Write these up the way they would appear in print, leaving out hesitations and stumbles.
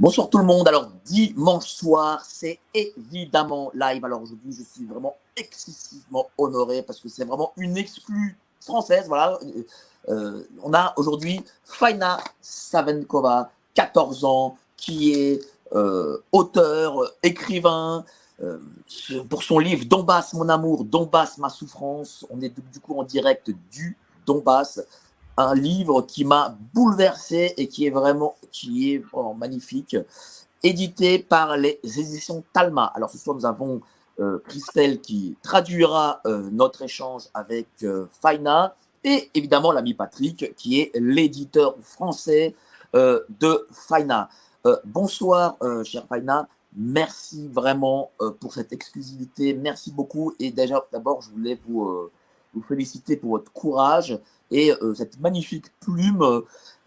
Bonsoir tout le monde. Alors, dimanche soir, c'est évidemment live. Alors aujourd'hui, je suis vraiment excessivement honoré parce que c'est vraiment une exclue française. Voilà. On a aujourd'hui Faina Savenkova, 14 ans, qui est auteur, écrivain. Pour son livre Donbass, mon amour, Donbass, ma souffrance. On est du coup en direct du Donbass. Un livre qui m'a bouleversé et qui est vraiment magnifique, édité par les éditions Talma. Alors ce soir, nous avons Christelle qui traduira notre échange avec Faina et évidemment l'ami Patrick qui est l'éditeur français de Faina. Bonsoir, chère Faina. Merci vraiment pour cette exclusivité. Merci beaucoup. Et déjà, d'abord, je voulais vous féliciter pour votre courage et cette magnifique plume,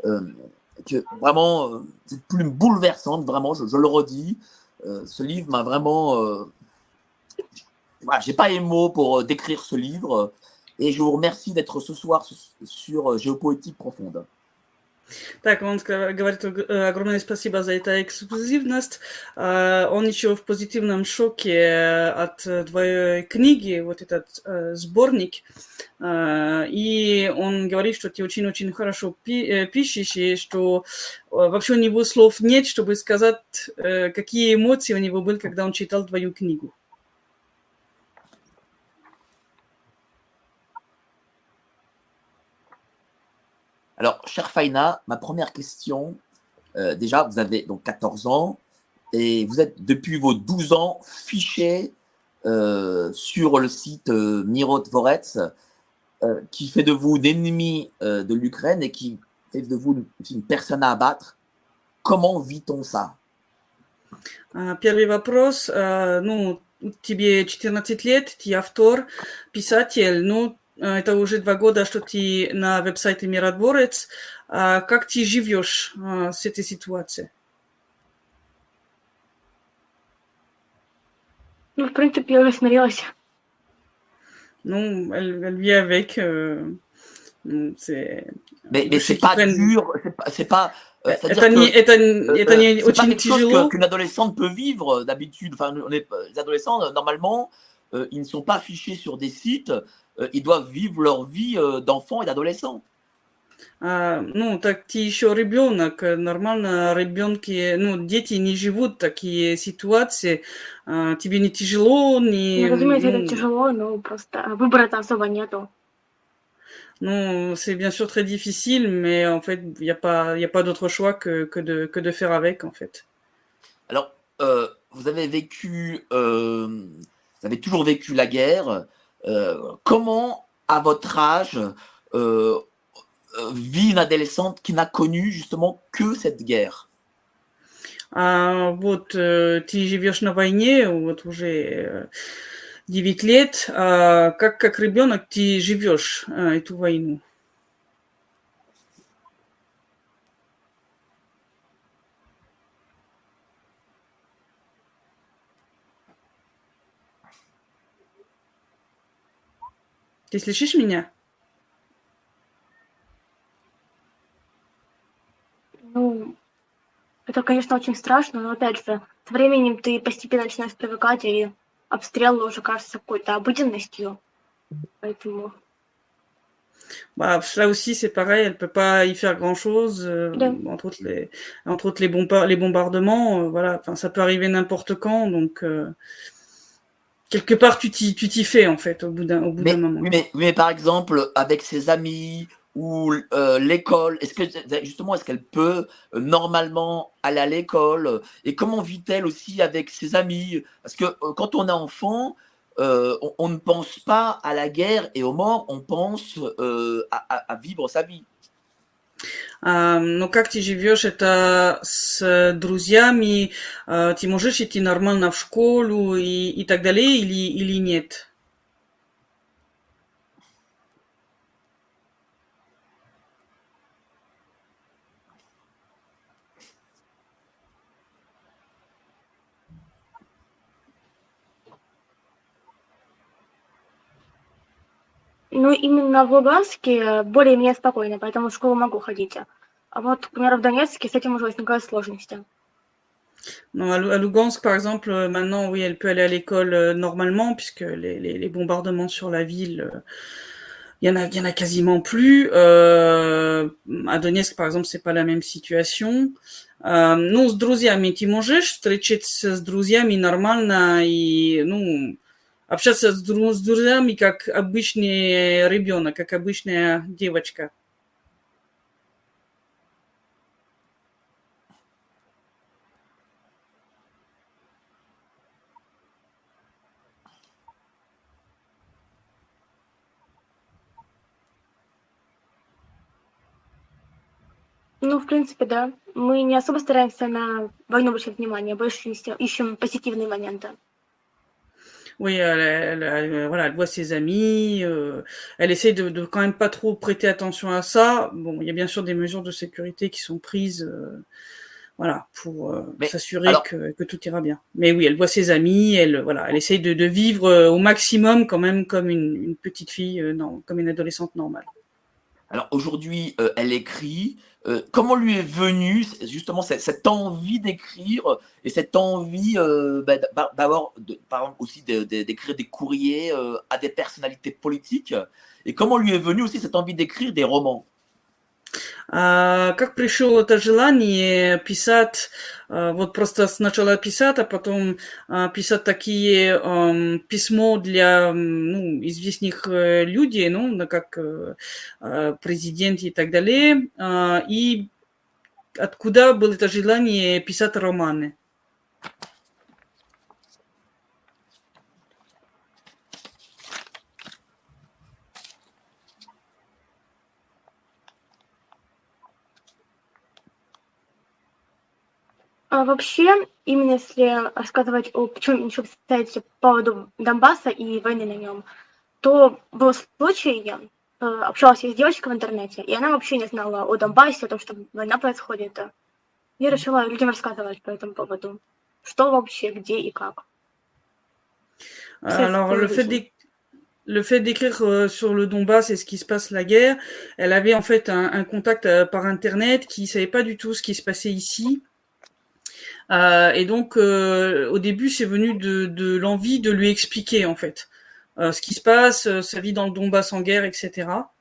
cette plume bouleversante, vraiment, je le redis. Ce livre m'a vraiment... voilà, j'ai pas les mots pour décrire ce livre. Et je vous remercie d'être ce soir sur Géopoétique Profonde. Так, он говорит огромное спасибо за эту эксклюзивность. Он еще в позитивном шоке от твоей книги, вот этот сборник. И он говорит, что ты очень-очень хорошо пишешь, и что вообще у него слов нет, чтобы сказать, какие эмоции у него были, когда он читал твою книгу. Alors, chère Faina, ma première question, déjà, vous avez donc 14 ans et vous êtes depuis vos 12 ans fiché sur le site Mirotvorets, qui fait de vous l'ennemi de l'Ukraine et qui fait de vous une personne à abattre. Comment vit-on ça? Первый вопрос. Тебе 14 лет, ты автор, писатель, это уже 2 года, что ты на веб-сайте Миротворец. Как ты живешь с этой ситуацией? В принципе, я уже смирилась. Elle vit avec. Mais c'est pas dur, c'est pas... это не очень тяжело. Qu'une adolescente peut vivre d'habitude. Enfin, les adolescents, normalement, ils ne sont pas fichés sur des sites. Ils doivent vivre leur vie d'enfants et d'adolescents. Так ты еще ребенок. Нормально ребенки, дети не живут такие ситуации. Тебе не тяжело, не... Разумеется, это тяжело, но просто выбора-то особо нету. C'est bien sûr très difficile, mais en fait, il n'y a pas d'autre choix que de faire avec, en fait. Alors, vous avez toujours vécu la guerre. Comment, à votre âge, vit une adolescente qui n'a connu justement que cette guerre? Ты живешь на войне, уже 9 лет. Как ребенок ты живешь эту войну? Ты слышишь меня? Это, конечно, очень страшно, но, опять же, со временем ты постепенно начинаешь привыкать, и обстрел уже кажется какой-то обыденностью. Поэтому... Ça aussi, c'est pareil, elle peut pas y faire grand-chose, entre autres les bombardements, voilà, enfin, ça peut arriver n'importe quand, donc quelque part tu t'y fais en fait au bout d'un moment. Mais par exemple, avec ses amis ou l'école, est-ce qu'elle peut normalement aller à l'école, et comment vit-elle aussi avec ses amis? Parce que quand on est enfant, on ne pense pas à la guerre et aux morts, on pense à vivre sa vie. Но как ты живешь это с друзьями? Ты можешь идти нормально в школу и так далее или нет? Именно в Луганске более-менее спокойно, поэтому в школу могу ходить. А вот, к примеру, в Донецке с этим уже возникают сложности. Non, à Lugansk, par exemple, maintenant, oui, elle peut aller à l'école normalement, puisque les bombardements sur la ville, il y en a quasiment plus. À Donetsk, par exemple, c'est pas la même situation. Ну, с друзьями ты можешь встречаться с друзьями нормально и, ну, общаться с друзьями как обычный ребенок, как обычная девочка. Ну, в принципе, да. Мы не особо стараемся на войну обращать внимание, больше ищем позитивные моменты. Oui, voilà, elle voit ses amis, elle essaie de quand même pas trop prêter attention à ça. Bon, il y a bien sûr des mesures de sécurité qui sont prises, voilà, pour Mais s'assurer alors, que tout ira bien. Mais oui, elle voit ses amis, voilà, elle essaie de vivre au maximum quand même comme une petite fille, non, comme une adolescente normale. alors aujourd'hui, elle écrit. Comment lui est venue justement cette envie d'écrire et cette envie d'avoir, par exemple, aussi d'écrire des courriers à des personnalités politiques? Et comment lui est venue aussi cette envie d'écrire des romans? Как пришло это желание писать, вот просто сначала писать, а потом писать такие письмо для ну, известных людей, ну, как президент и так далее, и откуда было это желание писать романы? А вообще, именно если рассказывать о чем еще кстати, по поводу Донбасса и войны на нем, то был случай, я общалась я с девочкой в интернете, и она вообще не знала о Донбассе, о том, что война происходит. Я решила людям рассказывать по этому поводу, что вообще, где и как. Alors, le fait d'écrire sur le Donbass et ce qui se passe la guerre, elle avait en fait un contact par internet qui savait pas du tout ce qui se passait ici. Et donc, au début, c'est venu de l'envie de lui expliquer en fait ce qui se passe, sa vie dans le Donbass en guerre, etc.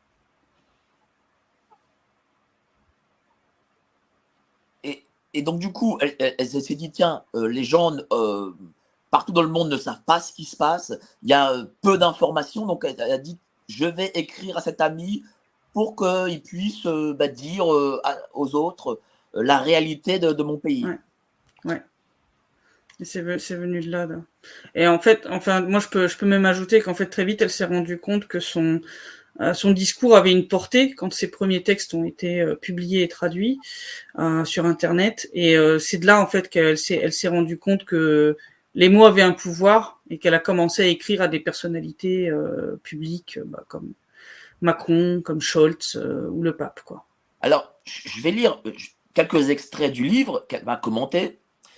Et donc du coup, elle s'est dit, tiens, les gens partout dans le monde ne savent pas ce qui se passe, il y a peu d'informations, donc elle a dit, je vais écrire à cet ami pour qu'il puisse dire aux autres la réalité de mon pays. Ouais. Ouais. Et c'est venu de là. Et en fait, enfin, moi je peux même ajouter qu'en fait très vite elle s'est rendue compte que son discours avait une portée quand ses premiers textes ont été publiés et traduits sur internet. Et c'est de là en fait qu'elle s'est rendue compte que les mots avaient un pouvoir et qu'elle a commencé à écrire à des personnalités publiques comme Macron, comme Scholz ou le pape, quoi. Alors, je vais lire quelques extraits du livre qu'elle m'a commenté.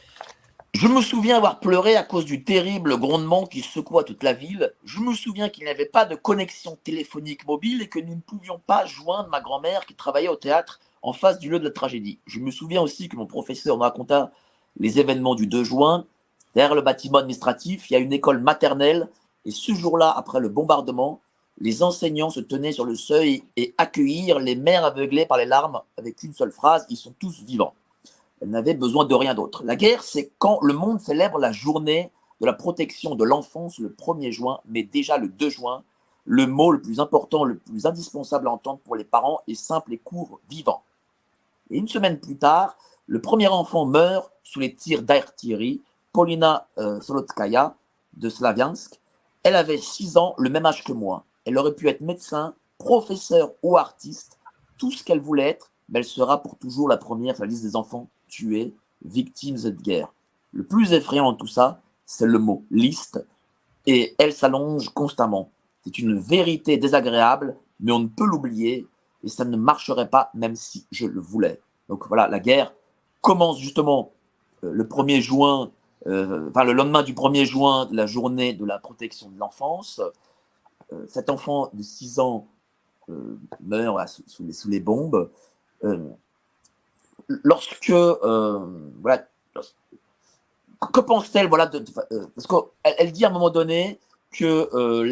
Je me souviens avoir pleuré à cause du terrible grondement qui secoua toute la ville. Je me souviens qu'il n'y avait pas de connexion téléphonique mobile et que nous ne pouvions pas joindre ma grand-mère qui travaillait au théâtre en face du lieu de la tragédie. Je me souviens aussi que mon professeur me raconta les événements du 2 juin. Derrière le bâtiment administratif, il y a une école maternelle et ce jour-là, après le bombardement, les enseignants se tenaient sur le seuil et accueillirent les mères aveuglées par les larmes avec une seule phrase, ils sont tous vivants. Elle n'avait besoin de rien d'autre. La guerre, c'est quand le monde célèbre la journée de la protection de l'enfance le 1er juin, mais déjà le 2 juin, le mot le plus important, le plus indispensable à entendre pour les parents est simple et court, vivant. Et une semaine plus tard, le premier enfant meurt sous les tirs d'artillerie, Polina Solotskaya de Slaviansk. Elle avait 6 ans, le même âge que moi. Elle aurait pu être médecin, professeur ou artiste, tout ce qu'elle voulait être, mais elle sera pour toujours la première sur la liste des enfants tués, victimes de cette guerre. Le plus effrayant de tout ça, c'est le mot liste, et elle s'allonge constamment. C'est une vérité désagréable, mais on ne peut l'oublier, et ça ne marcherait pas même si je le voulais. Donc voilà, la guerre commence justement le 1er juin, le lendemain du 1er juin, la journée de la protection de l'enfance. Cet enfant de 6 ans meurt sous les bombes. Lorsque que pense-t-elle, voilà, parce qu'elle dit à un moment donné que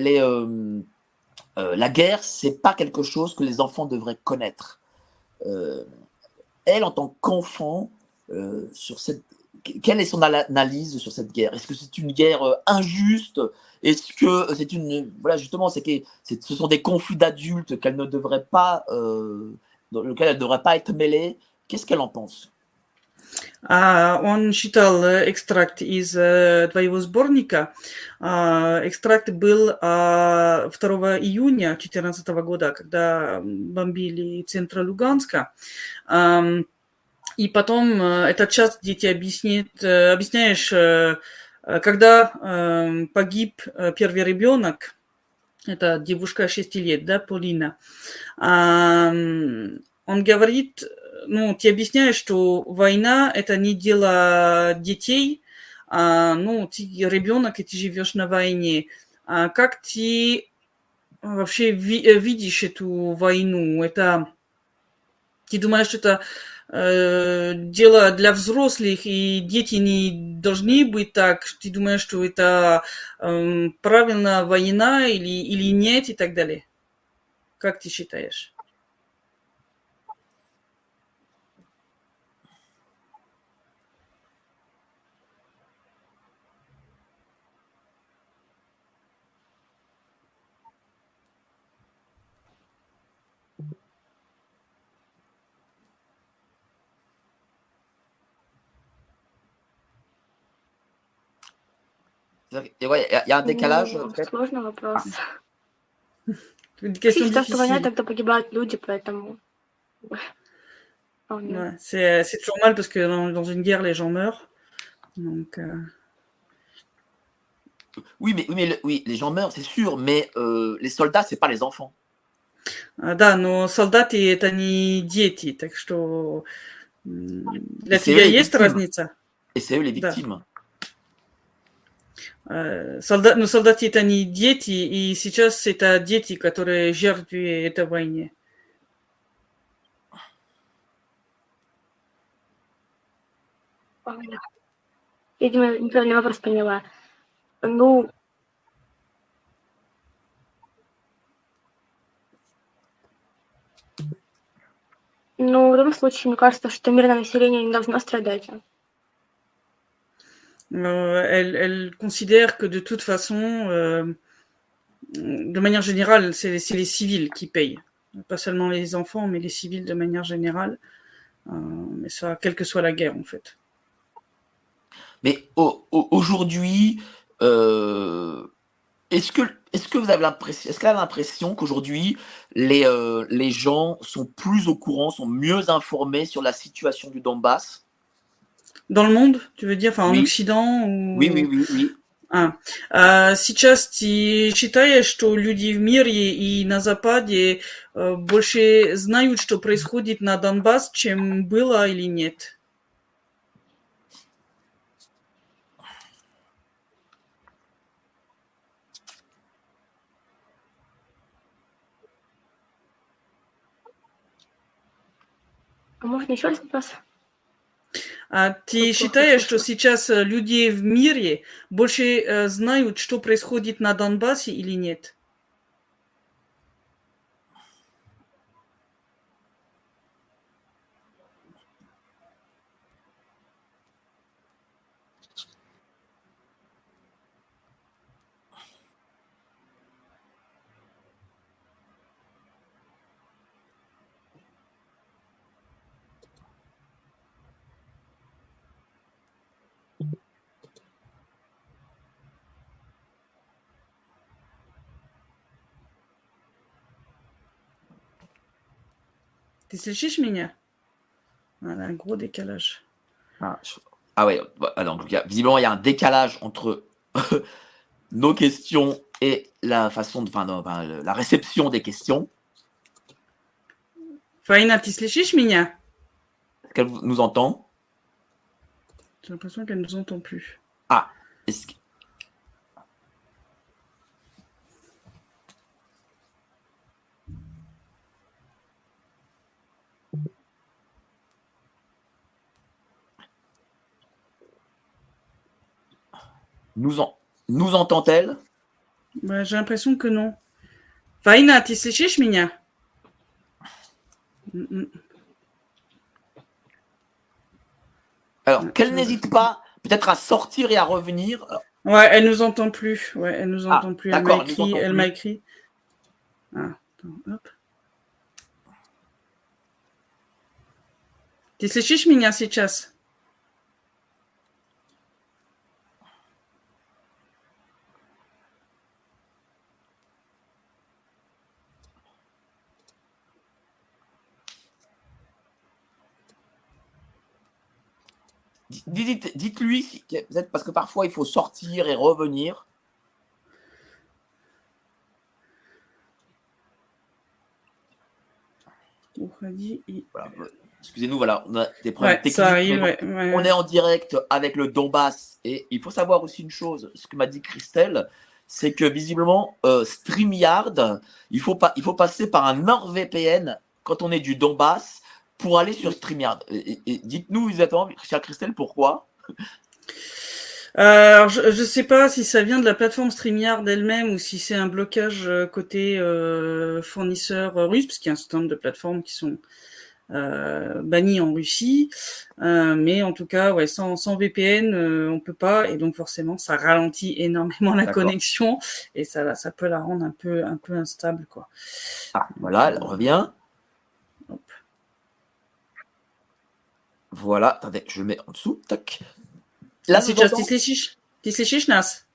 la guerre, c'est pas quelque chose que les enfants devraient connaître. Elle, en tant qu'enfant, quelle est son analyse sur cette guerre? Est-ce que c'est une guerre injuste? Est-ce que c'est voilà, justement, ce sont des conflits d'adultes qu'elle ne devrait pas, dans lesquels elle ne devrait pas être mêlée? Qu'est-ce qu'elle en pense? Он читал экстракт из твоего сборника. Экстракт был 2 июня 2014 года, когда бомбили центр Луганска. И потом этот час, где ты объясняешь, когда погиб первый ребенок, это девушка 6 лет, да, Полина, он говорит, ты объясняешь, что война – это не дело детей, ты ребенок, и ты живешь на войне. Как ты вообще видишь эту войну? Ты думаешь, что это дело для взрослых, и дети не должны быть так? Ты думаешь, что это правильно война или нет, и так далее? Как ты считаешь? Il y a un décalage. Сложный вопрос. Une question Считаю, что война, difficile. тогда погибают люди, поэтому... Ouais, c'est toujours mal parce que dans une guerre, les gens meurent. Donc, Oui, les gens meurent, c'est sûr, mais les soldats, c'est pas les enfants. Да, но солдаты это не дети, так что для Et c'est eux тебя les есть victimes. разница? Et c'est eux les Да. victimes. Но солдаты это не дети, и сейчас это дети, которые жертвы этой войны. Видимо, неправильный вопрос поняла. Ну, в любом случае, мне кажется, что мирное население не должно страдать. Elle considère que de toute façon, de manière générale, c'est les civils qui payent. Pas seulement les enfants, mais les civils de manière générale. Mais ça, quelle que soit la guerre, en fait. Mais aujourd'hui, est-ce que vous avez l'impression, est-ce qu'elle a l'impression qu'aujourd'hui, les gens sont plus au courant, sont mieux informés sur la situation du Donbass? Dans le monde, tu veux dire, enfin en Oui. Occident ou... Oui. Сейчас ты считаешь, что люди в мире и на Западе больше знают, что происходит на Донбасс, чем было или нет? Можно еще раз вопрос? Ты считаешь, что сейчас люди в мире больше знают, что происходит на Донбассе или нет? Ты слышишь меня? Voilà, un gros décalage. Ouais, donc visiblement il y a un décalage entre nos questions et la façon la réception des questions. Фаина, ты слышишь меня? Est-ce qu'elle nous entend? J'ai l'impression qu'elle ne nous entend plus. Est-ce que... Nous entend-elle? Bah, j'ai l'impression que non. Faina, ты слышишь меня? Alors, qu'elle n'hésite pas peut-être à sortir et à revenir. Ouais, elle nous entend plus. Ouais, elle nous entend plus. D'accord, Elle m'a écrit. Ah, attends, hop. Ты слышишь меня сейчас? Dites-lui, peut-être parce que parfois il faut sortir et revenir. Voilà. Excusez-nous, voilà, on a des problèmes techniques. Ça arrive, On est en direct avec le Donbass et il faut savoir aussi une chose, ce que m'a dit Christelle, c'est que visiblement StreamYard, il faut passer par un NordVPN quand on est du Donbass pour aller sur StreamYard. Et dites-nous exactement, chère Christelle, pourquoi? Alors, je ne sais pas si ça vient de la plateforme StreamYard elle-même ou si c'est un blocage côté fournisseur russe, parce qu'il y a un certain nombre de plateformes qui sont bannies en Russie. Mais en tout cas, ouais, sans VPN, on peut pas, et donc forcément, ça ralentit énormément la connexion et ça peut la rendre un peu instable, quoi. Ah, voilà, elle revient. Hop. Voilà, attendez, je le mets en dessous. Tac. Là, сейчас ты слышишь нас?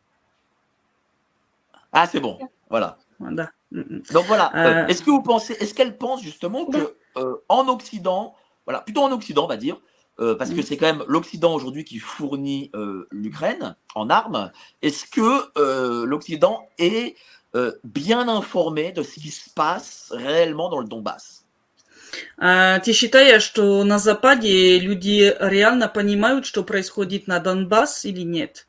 Ah, c'est bon. Voilà. Да. Donc voilà. Est-ce qu'elle pense justement que en Occident, voilà, plutôt en Occident, on va dire, parce que c'est quand même l'Occident aujourd'hui qui fournit l'Ukraine en armes. Est-ce que l'Occident est bien informé de ce qui se passe réellement dans le Donbass? Ты считаешь, что на Западе люди реально понимают, что происходит на Донбасс или нет?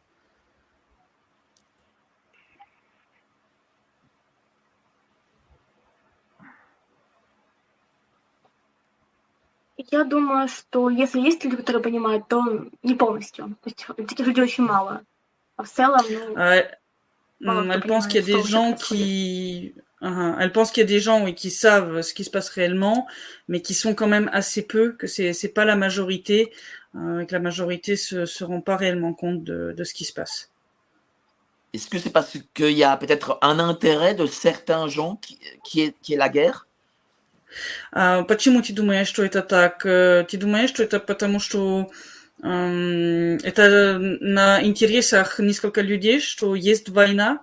Я думаю, что если есть люди, которые понимают, то не полностью. То есть таких людей очень мало. А в целом, elle pense qu'il y a des gens qui... Elle pense qu'il y a des gens qui savent ce qui se passe réellement, mais qui sont quand même assez peu, que c'est pas la majorité, que la majorité se rend pas réellement compte de ce qui se passe. Est-ce que c'est parce qu'il y a peut-être un intérêt de certains gens qui est la guerre? Почему ты думаешь, что это так? Ты думаешь, что это потому, что это на интересах несколько людей, что есть война?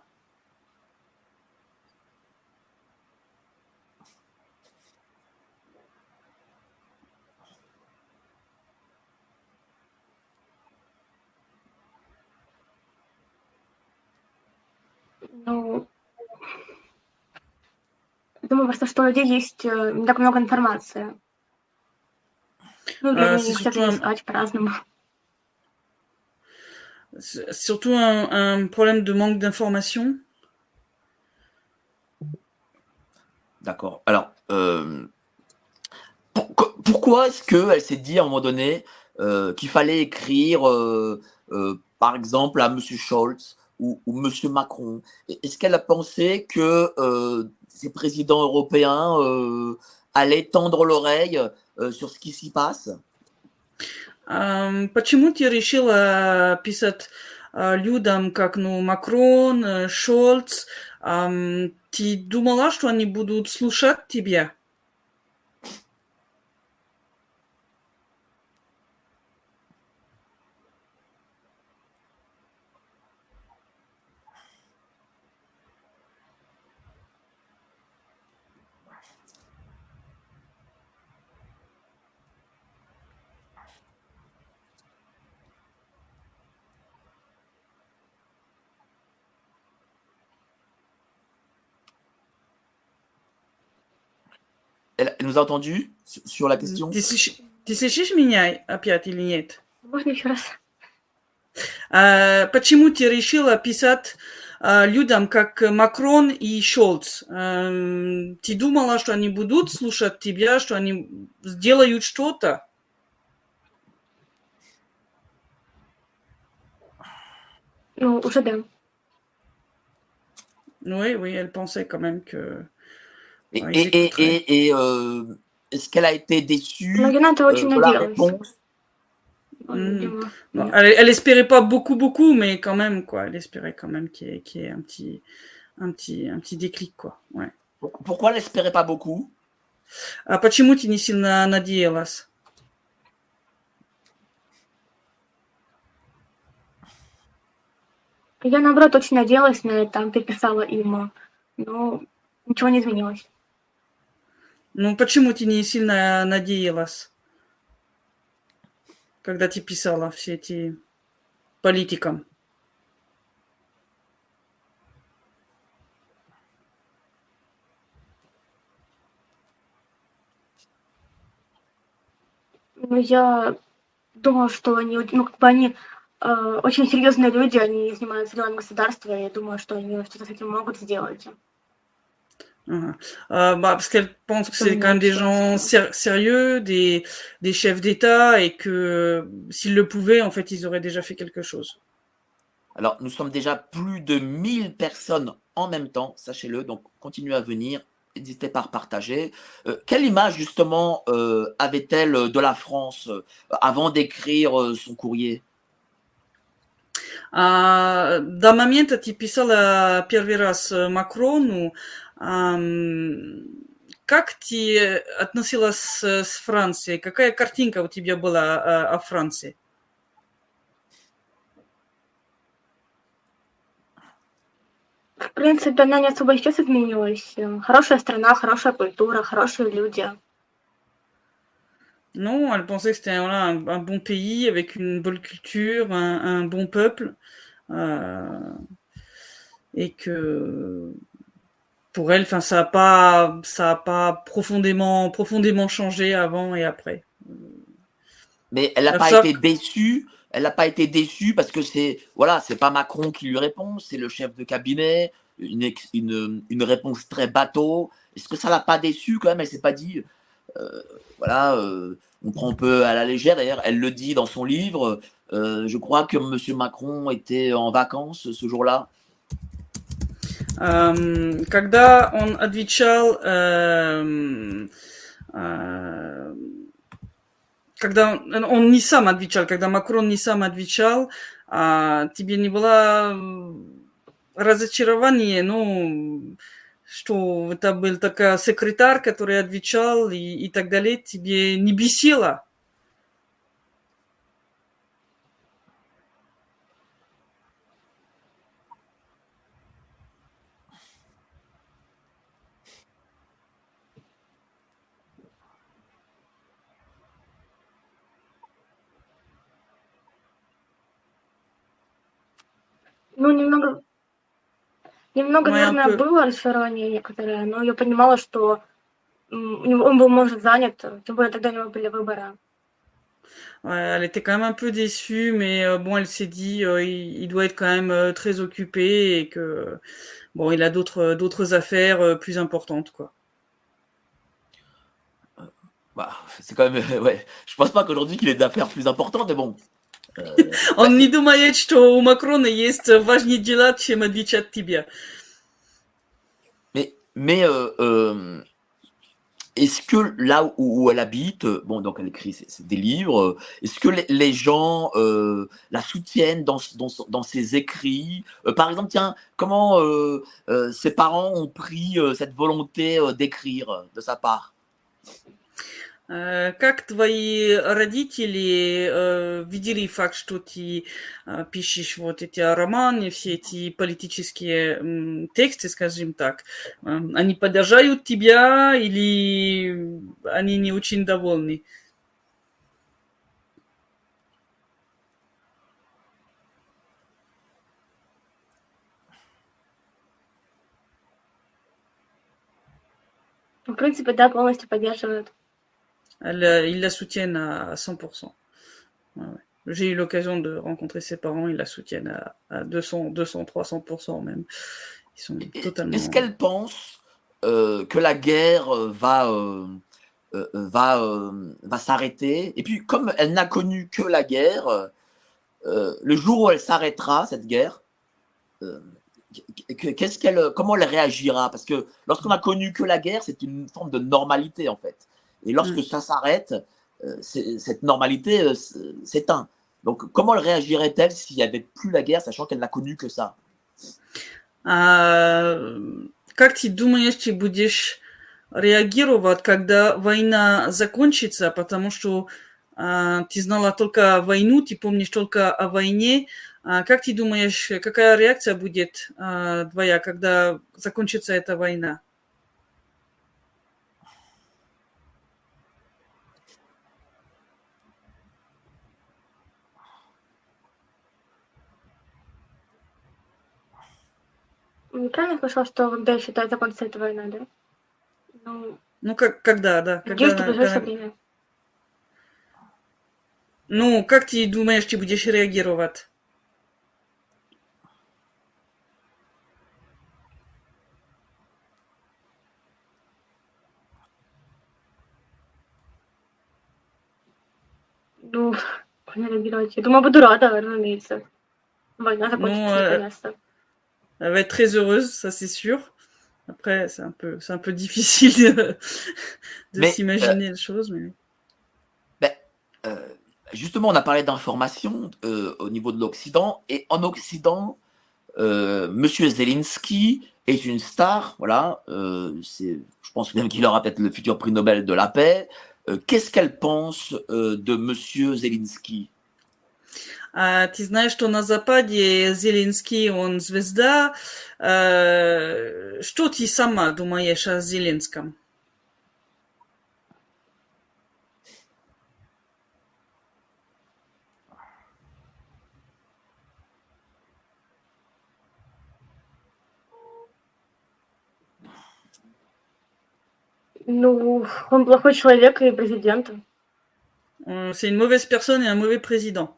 Ну, думаю просто, что у людей есть не так много информации. Ну, люди не хотят ее искать по-разному. Surtout un problème de manque d'information. D'accord. Alors, pourquoi est-ce qu'elle s'est dit à un moment donné qu'il fallait écrire, par exemple, à M. Scholz ou M. Macron? Est-ce qu'elle a pensé que ces présidents européens allaient tendre l'oreille sur ce qui s'y passe? Почему ты решила писать людям, как Макрон, Шольц? Ты думала, что они будут слушать тебя? Elle nous a entendu sur la question? Ты слышишь меня опять или нет? Можно еще раз? Почему ты решила писать людям, как Макрон и Шольц? Ты думала, что они будут слушать тебя, что они сделают что-то? Ну, уже да. Oui, oui, elle pensait quand même que Et, ils et, et, écouteraient. est-ce qu'elle a été Но déçue Рената очень de la надеялась. réponse? Видимо, Non, нет. elle espérait pas beaucoup, mais quand même, quoi. Elle espérait quand même qu'il y ait un petit déclic, quoi. Ouais. Pourquoi elle n'espérait pas beaucoup? А почему ты не сильно надеялась? Я, наоборот, очень надеялась на это, переписала им, но ничего не изменилось. Ну, почему ты не сильно надеялась, когда ты писала все эти политикам? Ну, я думала, что они, ну, как бы они очень серьезные люди, они занимаются делами государства, и я думаю, что они что-то с этим могут сделать. Parce qu'elle pense que c'est quand même des gens sérieux, des chefs d'État, et que s'ils le pouvaient, en fait, ils auraient déjà fait quelque chose. Alors, nous sommes déjà plus de 1000 personnes en même temps, sachez-le, donc continuez à venir, n'hésitez pas à partager. Quelle image, justement, avait-elle de la France avant d'écrire son courrier? До момента ты писала первый раз Макрону, как ты относилась с Францией? Какая картинка у тебя была о Франции? В принципе, она не особо сейчас изменилась. Хорошая страна, хорошая культура, хорошие люди. Non, elle pensait que c'était voilà, un bon pays avec une bonne culture, un bon peuple, et que pour elle, enfin, ça a pas profondément changé avant et après. Mais elle n'a pas été déçue. Elle n'a pas été déçue parce que c'est pas Macron qui lui répond, c'est le chef de cabinet, une réponse très bateau. Est-ce que ça l'a pas déçue quand même? Elle s'est pas dit, on prend un peu à la légère. D'ailleurs, elle le dit dans son livre. Je crois que Monsieur Macron était en vacances ce jour-là. Когда он отвечал, когда он не сам отвечал, когда Макрон не сам отвечал, тебе не было разочарования, ну, что это был такой секретарь, который отвечал и так далее, тебе не бесило? Ну, немного, наверное, было разочарование некоторое, но я понимала, что он был, может, занят, тем более тогда у него были выборы. Ouais, elle était quand même un peu déçue, mais bon, elle s'est dit, il doit être quand même très occupé et que bon, il a d'autres affaires plus importantes, quoi. C'est quand même, ouais. Je pense pas qu'aujourd'hui qu'il ait d'affaires plus importantes, mais bon. Он не думает, что у Макрона есть важнее дела, чем отвечать тебе. Mais est-ce que là où elle habite, bon, donc elle écrit des livres, est-ce que les gens la soutiennent dans ses écrits? Par exemple, tiens, comment ses parents ont pris cette volonté d'écrire de sa part? Как твои родители видели факт, что ты пишешь вот эти романы, все эти политические тексты, скажем так? Они поддерживают тебя или они не очень довольны? В принципе, да, полностью поддерживают. Ils la soutiennent à 100%. Ouais. J'ai eu l'occasion de rencontrer ses parents, ils la soutiennent à 200, 300% même. Ils sont totalement... Est-ce qu'elle pense que la guerre va s'arrêter? Et puis, comme elle n'a connu que la guerre, le jour où elle s'arrêtera, cette guerre, comment elle réagira? Parce que lorsqu'on a connu que la guerre, c'est une forme de normalité, en fait. Et lorsque ça s'arrête, cette normalité s'éteint. Donc, comment elle réagirait-elle s'il n'y avait plus la guerre, sachant qu'elle n'a connu que ça? Как ты думаешь, ты будешь реагировать, когда война закончится, потому что ты знала только войну, ты помнишь только о войне. Как ты думаешь, какая реакция будет твоя, когда закончится эта война? Правильно слышала, что когда считает закончится эта война, да? Ну, когда, да. Надеюсь, в ближайшее время. Ну, как ты думаешь, ты будешь реагировать? Ну, не реагировать. Я думаю, буду рада, разумеется. Война закончится наконец-то. Elle va être très heureuse, ça c'est sûr. Après, c'est un peu difficile de s'imaginer les choses. Mais... justement, on a parlé d'information au niveau de l'Occident. Et en Occident, Monsieur Zelensky est une star. Voilà, je pense même qu'il aura peut-être le futur prix Nobel de la paix. Qu'est-ce qu'elle pense de Monsieur Zelensky? Ты знаешь, что на Западе Зеленский, он звезда. Что ты сама думаешь о Зеленском? Ну, он плохой человек и президент. C'est une mauvaise personne et un mauvais président.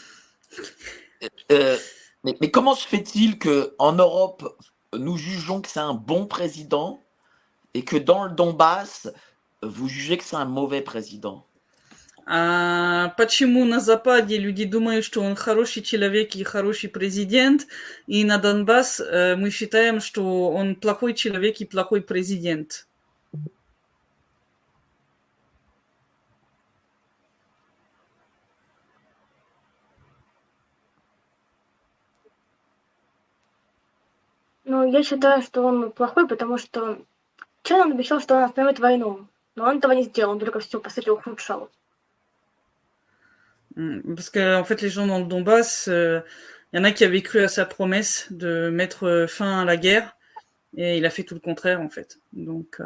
Mais comment se fait-il qu'en Europe, nous jugeons que c'est un bon président et que dans le Donbass, vous jugez que c'est un mauvais président? Почему на Западе люди думают, что он хороший человек и хороший президент, и на Донбасс мы считаем, что он плохой человек и плохой президент? Ну, я считаю, что он плохой, потому что вчера он обещал, что он остановит войну. Но он этого не сделал, он только все, по сути, ухудшал. Parce que, en fait, les gens dans le Donbass, y en a qui avaient cru à sa promesse de mettre fin à la guerre, et il a fait tout le contraire, en fait. Donc,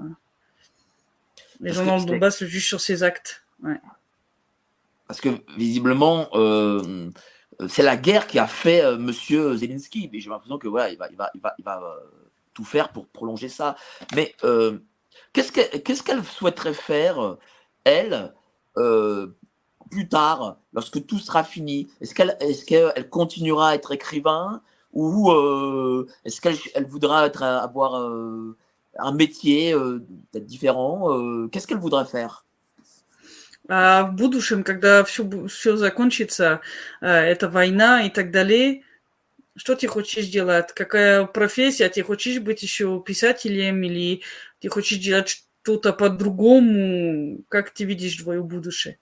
les gens dans le Donbass le jugent sur ses actes. Ouais. Parce que, visiblement, c'est la guerre qui a fait Monsieur Zelensky. Mais j'ai l'impression que voilà, il va tout faire pour prolonger ça. Mais qu'est-ce qu'elle souhaiterait faire, elle, plus tard, lorsque tout sera fini? Est-ce qu'elle continuera à être écrivain, ou est-ce qu'elle voudra avoir un métier peut-être différent? Qu'est-ce qu'elle voudrait faire? А в будущем, когда все закончится, эта война и так далее, что ты хочешь делать? Какая профессия? Ты хочешь быть еще писателем или ты хочешь делать что-то по-другому? Как ты видишь твое будущее?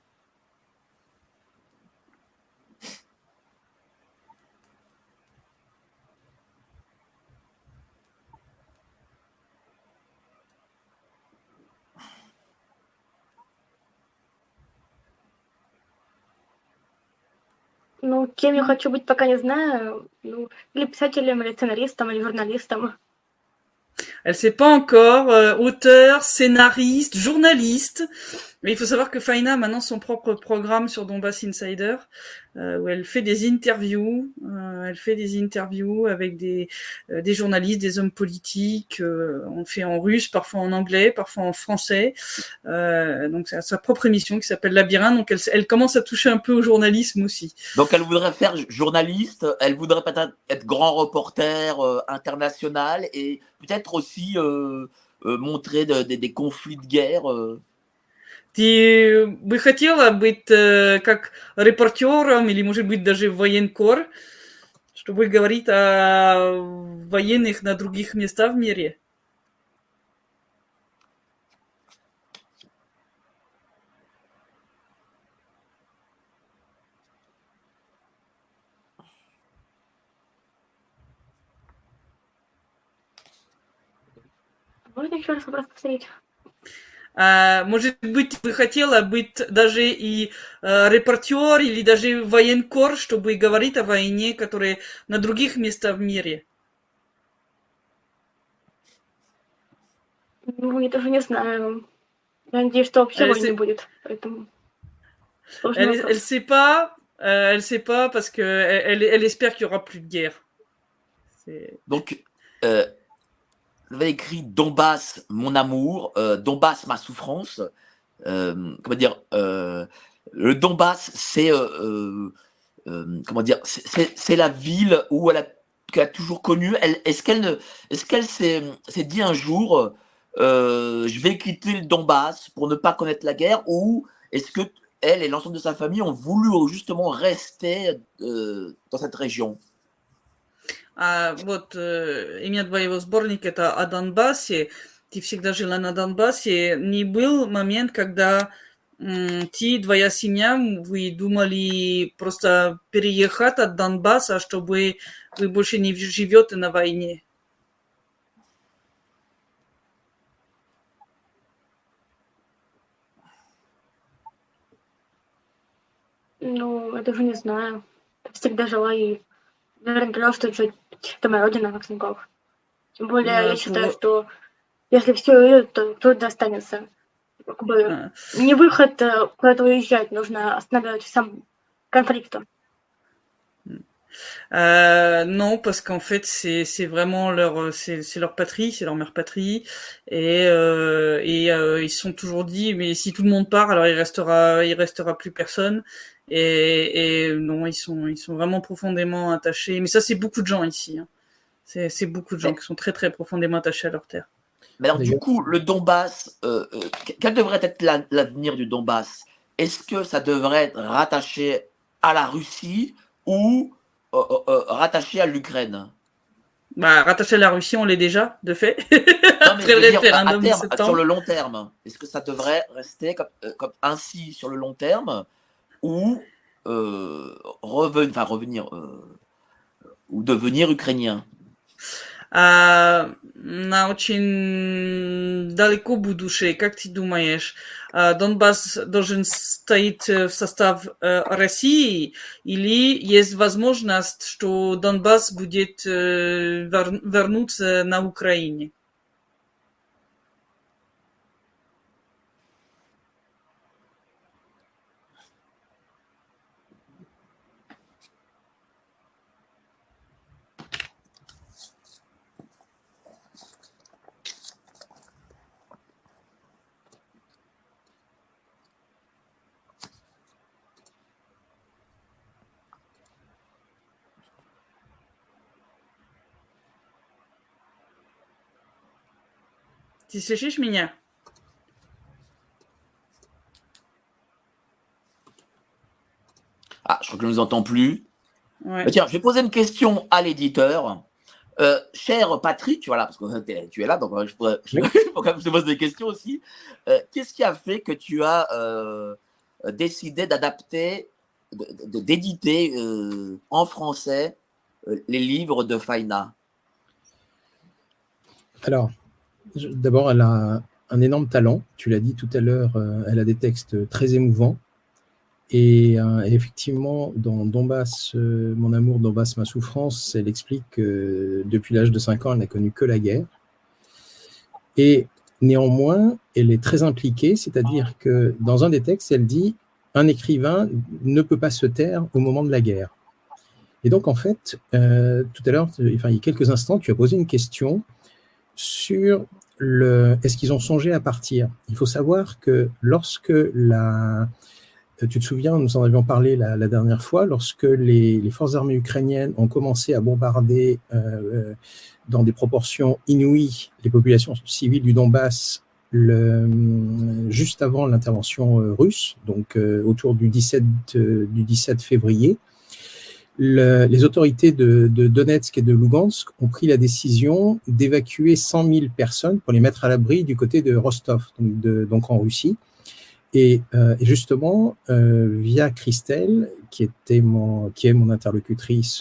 Ну, кем я хочу быть, пока не знаю. Ну, или писателем, или сценаристом, или журналистом. Elle ne sait pas encore, auteur, scénariste, journaliste. Mais il faut savoir que Faina a maintenant son propre programme sur Donbass Insider, où elle fait des interviews. Elle fait des interviews avec des journalistes, des hommes politiques. On fait en russe, parfois en anglais, parfois en français. Donc c'est sa propre émission qui s'appelle Labyrinthe. Donc elle commence à toucher un peu au journalisme aussi. Donc elle voudrait faire journaliste, elle voudrait peut-être être grand reporter international et peut-être aussi montrer des conflits de guerre. Ты бы хотела быть как репортером или, может быть, даже военкор, чтобы говорить о военных на других местах в мире? Можно еще раз вопрос повторить? Может быть, бы хотела быть даже и репортер или даже военкор, чтобы говорить о войне, которая на других местах в мире? Ну, я даже не знаю. Я надеюсь, что вообще войны не будет, поэтому сложный вопрос. Elle sait pas parce que elle espère qu'il y aura plus de guerre. Donc, vous avez écrit Donbass, mon amour, Donbass, ma souffrance. Comment dire, le Donbass, c'est comment dire, c'est la ville où qu'elle a toujours connue. Est-ce qu'elle s'est dit un jour, je vais quitter le Donbass pour ne pas connaître la guerre, ou est-ce que elle et l'ensemble de sa famille ont voulu justement rester dans cette région? Вот имя твоего сборника это о Донбассе. Ты всегда жила на Донбассе. Не был момент, когда ты, твоя семья, вы думали просто переехать от Донбасса, чтобы вы больше не живете на войне? Ну, я даже не знаю. Всегда жила и наверное, что это моя родина, Максимков. Тем более, я считаю, что если все уедут, то кто-то останется. Как бы не выход куда-то уезжать, нужно останавливать сам конфликт. Non, parce qu'en fait, c'est vraiment c'est leur patrie, c'est leur mère patrie, et ils se sont toujours dit, mais si tout le monde part, alors il restera plus personne. Et non, ils sont vraiment profondément attachés. Mais ça, c'est beaucoup de gens ici. Hein. C'est beaucoup de gens qui sont très très profondément attachés à leur terre. Mais alors, du coup, le Donbass, quel devrait être l'avenir du Donbass? Est-ce que ça devrait être rattaché à la Russie ou rattaché à l'Ukraine? Bah, rattaché à la Russie, on l'est déjà, de fait. Non, mais après le référendum de septembre. Sur le long terme, est-ce que ça devrait rester comme ainsi sur le long terme, ou revenir ou devenir ukrainien? На очень далеко будущее, как ты думаешь, Донбасс должен стоять в состав России, или есть возможность, что Донбасс будет вернуться на Украине? Ты слышишь меня? Ah, je crois que je ne nous entends plus. Ouais. Tiens, je vais poser une question à l'éditeur. Cher Patrick, voilà, parce que tu es là, donc je pourrais quand même te poser des questions aussi. Qu'est-ce qui a fait que tu as décidé d'adapter, d'éditer en français les livres de Faina? Alors, d'abord, elle a un énorme talent. Tu l'as dit tout à l'heure, elle a des textes très émouvants. Et effectivement, dans Donbass, mon amour, Donbass, ma souffrance, elle explique que depuis l'âge de 5 ans, elle n'a connu que la guerre. Et néanmoins, elle est très impliquée, c'est-à-dire que dans un des textes, elle dit « Un écrivain ne peut pas se taire au moment de la guerre ». Et donc, en fait, tout à l'heure, il y a quelques instants, tu as posé une question sur est-ce qu'ils ont songé à partir. Il faut savoir que lorsque tu te souviens, nous en avions parlé la dernière fois, lorsque les forces armées ukrainiennes ont commencé à bombarder dans des proportions inouïes les populations civiles du Donbass juste avant l'intervention russe, donc autour du 17 février, les autorités de Donetsk et de Lugansk ont pris la décision d'évacuer 100 000 personnes pour les mettre à l'abri du côté de Rostov, donc en Russie. Et justement, via Christelle, qui est mon interlocutrice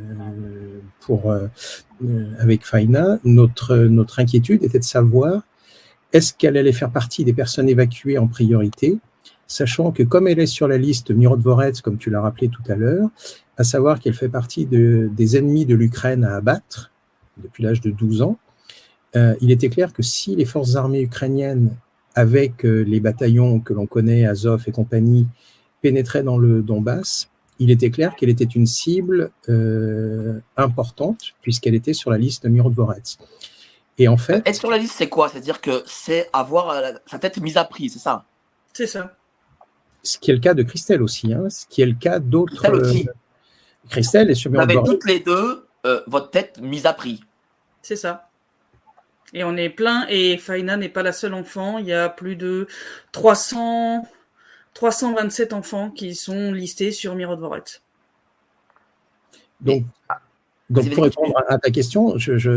avec Faina, notre inquiétude était de savoir est-ce qu'elle allait faire partie des personnes évacuées en priorité, sachant que comme elle est sur la liste Mirodvorets, comme tu l'as rappelé tout à l'heure, à savoir qu'elle fait partie des ennemis de l'Ukraine à abattre depuis l'âge de 12 ans, il était clair que si les forces armées ukrainiennes, avec les bataillons que l'on connaît, Azov et compagnie, pénétraient dans le Donbass, il était clair qu'elle était une cible importante, puisqu'elle était sur la liste Mirodvorets. Et en fait, être sur la liste, c'est quoi? C'est-à-dire que c'est avoir sa tête mise à prix, c'est ça? C'est ça. Ce qui est le cas de Christelle aussi, hein, ce qui est le cas d'autres. Christelle aussi. Christelle est sur Vous avez Mirodvorets. toutes les deux votre tête mise à prix. C'est ça. Et on est plein, et Faina n'est pas la seule enfant. Il y a plus de 327 enfants qui sont listés sur Mirodvorets. Donc pour répondre à ta question,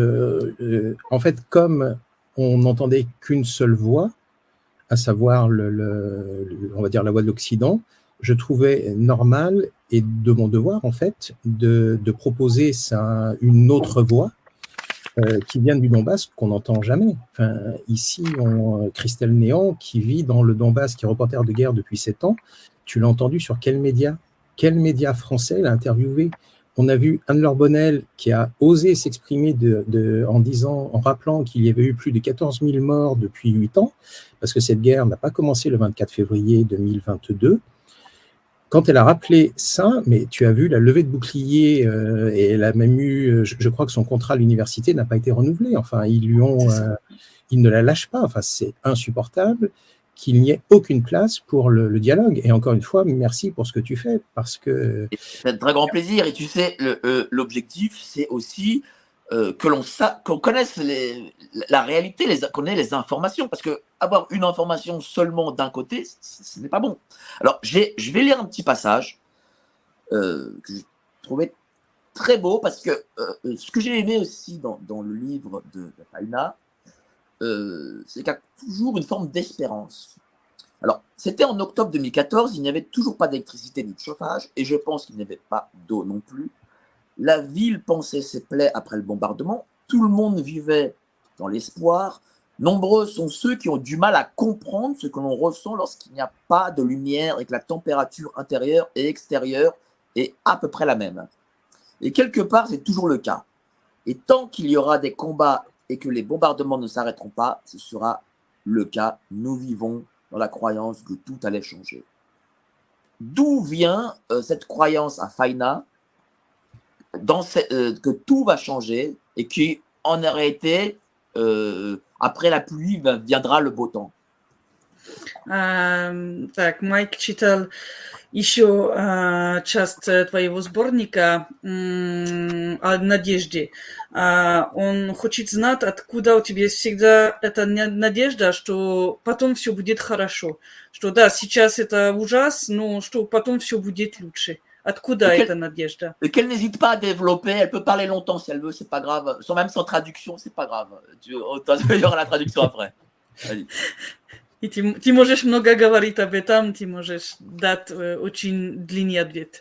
en fait, comme on n'entendait qu'une seule voix, à savoir on va dire la voix de l'Occident, je trouvais normal et de mon devoir en fait de proposer une autre voix qui vient du Donbass qu'on n'entend jamais. Enfin, ici, Christelle Néant, qui vit dans le Donbass, qui est reporter de guerre depuis 7 ans, tu l'as entendu sur quel média français l'a interviewé? On a vu Anne-Laure Bonnel qui a osé s'exprimer en rappelant qu'il y avait eu plus de 14 000 morts depuis 8 ans, parce que cette guerre n'a pas commencé le 24 février 2022. Quand elle a rappelé ça, mais tu as vu la levée de bouclier, et elle a même eu, je crois que son contrat à l'université n'a pas été renouvelé. Enfin, ils ne la lâchent pas. Enfin, c'est insupportable qu'il n'y ait aucune place pour le dialogue. Et encore une fois, merci pour ce que tu fais, parce que... C'est un très grand plaisir. Et tu sais, l'objectif, c'est aussi qu'on connaisse la réalité, qu'on ait les informations. Parce que avoir une information seulement d'un côté, ce n'est pas bon. Alors, je vais lire un petit passage que j'ai trouvé très beau, parce que ce que j'ai aimé aussi dans le livre de Faina, c'est qu'il y a toujours une forme d'espérance. Alors, c'était en octobre 2014, il n'y avait toujours pas d'électricité ni de chauffage, et je pense qu'il n'y avait pas d'eau non plus. La ville pansait ses plaies après le bombardement, tout le monde vivait dans l'espoir. Nombreux sont ceux qui ont du mal à comprendre ce que l'on ressent lorsqu'il n'y a pas de lumière et que la température intérieure et extérieure est à peu près la même. Et quelque part, c'est toujours le cas. Et tant qu'il y aura des combats et que les bombardements ne s'arrêteront pas, ce sera le cas. Nous vivons dans la croyance que tout allait changer. D'où vient cette croyance à Faina que tout va changer et qu'en réalité, après la pluie viendra le beau temps? Так, Майк читал еще часть твоего сборника о надежде. Он хочет знать, откуда у тебя есть всегда эта надежда, что потом все будет хорошо. Что да, сейчас это ужас, но что потом все будет лучше. Откуда эта надежда? Et qu'elle n'hésite pas à développer, elle peut parler longtemps si elle veut, c'est pas grave. Même sans traduction, c'est pas grave. Il y aura la traduction après. Vas-y. И ты можешь много говорить об этом, ты можешь дать очень длинный ответ.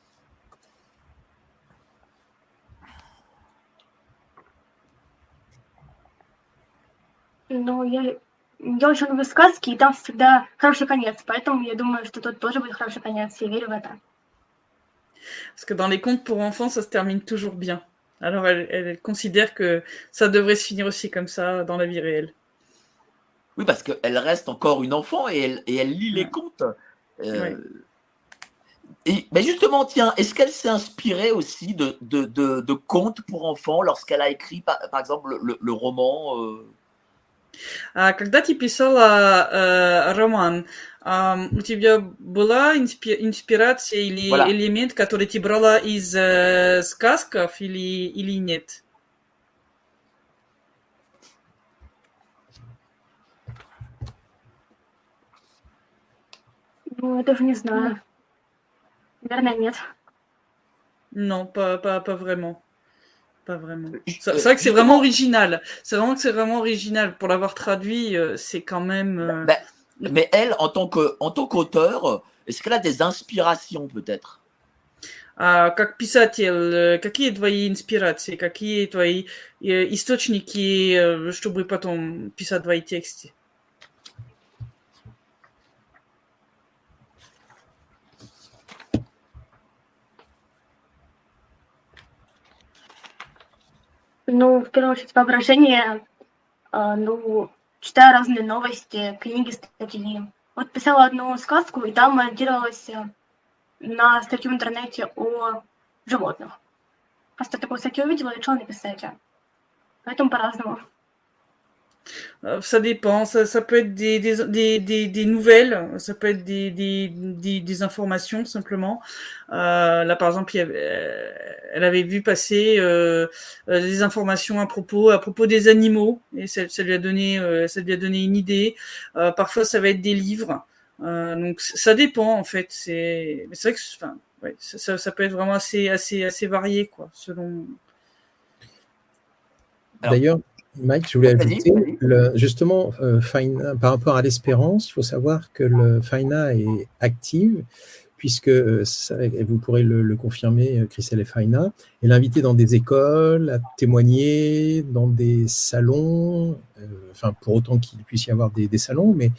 Ну, я очень люблю сказки, и там всегда хороший конец, поэтому я думаю, что тут тоже будет хороший конец, я верю в это. Parce que dans les contes pour enfants, ça se termine toujours bien. Alors elle considère que ça devrait se finir aussi comme ça dans la vie réelle. Oui, parce qu'elle reste encore une enfant et elle lit les contes. Mais justement, tiens, est-ce qu'elle s'est inspirée aussi de contes pour enfants lorsqu'elle a écrit, par exemple, le roman Когда ты писала роман, у тебя была инспирация или элемент, который ты брала из сказков или нет? Ну, я даже не знаю. Наверное, нет. Non, pas vraiment. Pas vraiment. C'est vrai que c'est vraiment original. C'est vraiment original. Pour l'avoir traduit, c'est quand même... Mais elle, en tant qu'auteur, est-ce qu'elle a des inspirations peut-être? А как писатель, какие твои инспирации, какие твои источники, чтобы потом писать твои тексты? Ну, в первую очередь, воображение, читаю разные новости, книги, статьи. Вот писала одну сказку, и там ориентировалась на статью в интернете о животных. Просто такую статью увидела и решила написать. Поэтому по-разному. Ça dépend, ça peut être des nouvelles, ça peut être des informations simplement. Là, par exemple, elle avait vu passer des informations à propos des animaux, et ça lui a donné une idée. Parfois, ça va être des livres. Donc, ça dépend en fait. Mais c'est vrai que, ça peut être vraiment assez varié, quoi, selon. D'ailleurs, Mike, je voulais ajouter, justement, Faina, par rapport à l'espérance, il faut savoir que le Faina est active, puisque, vous pourrez le confirmer, Christelle et Faina, elle est invitée dans des écoles, à témoigner, dans des salons, pour autant qu'il puisse y avoir des salons, mais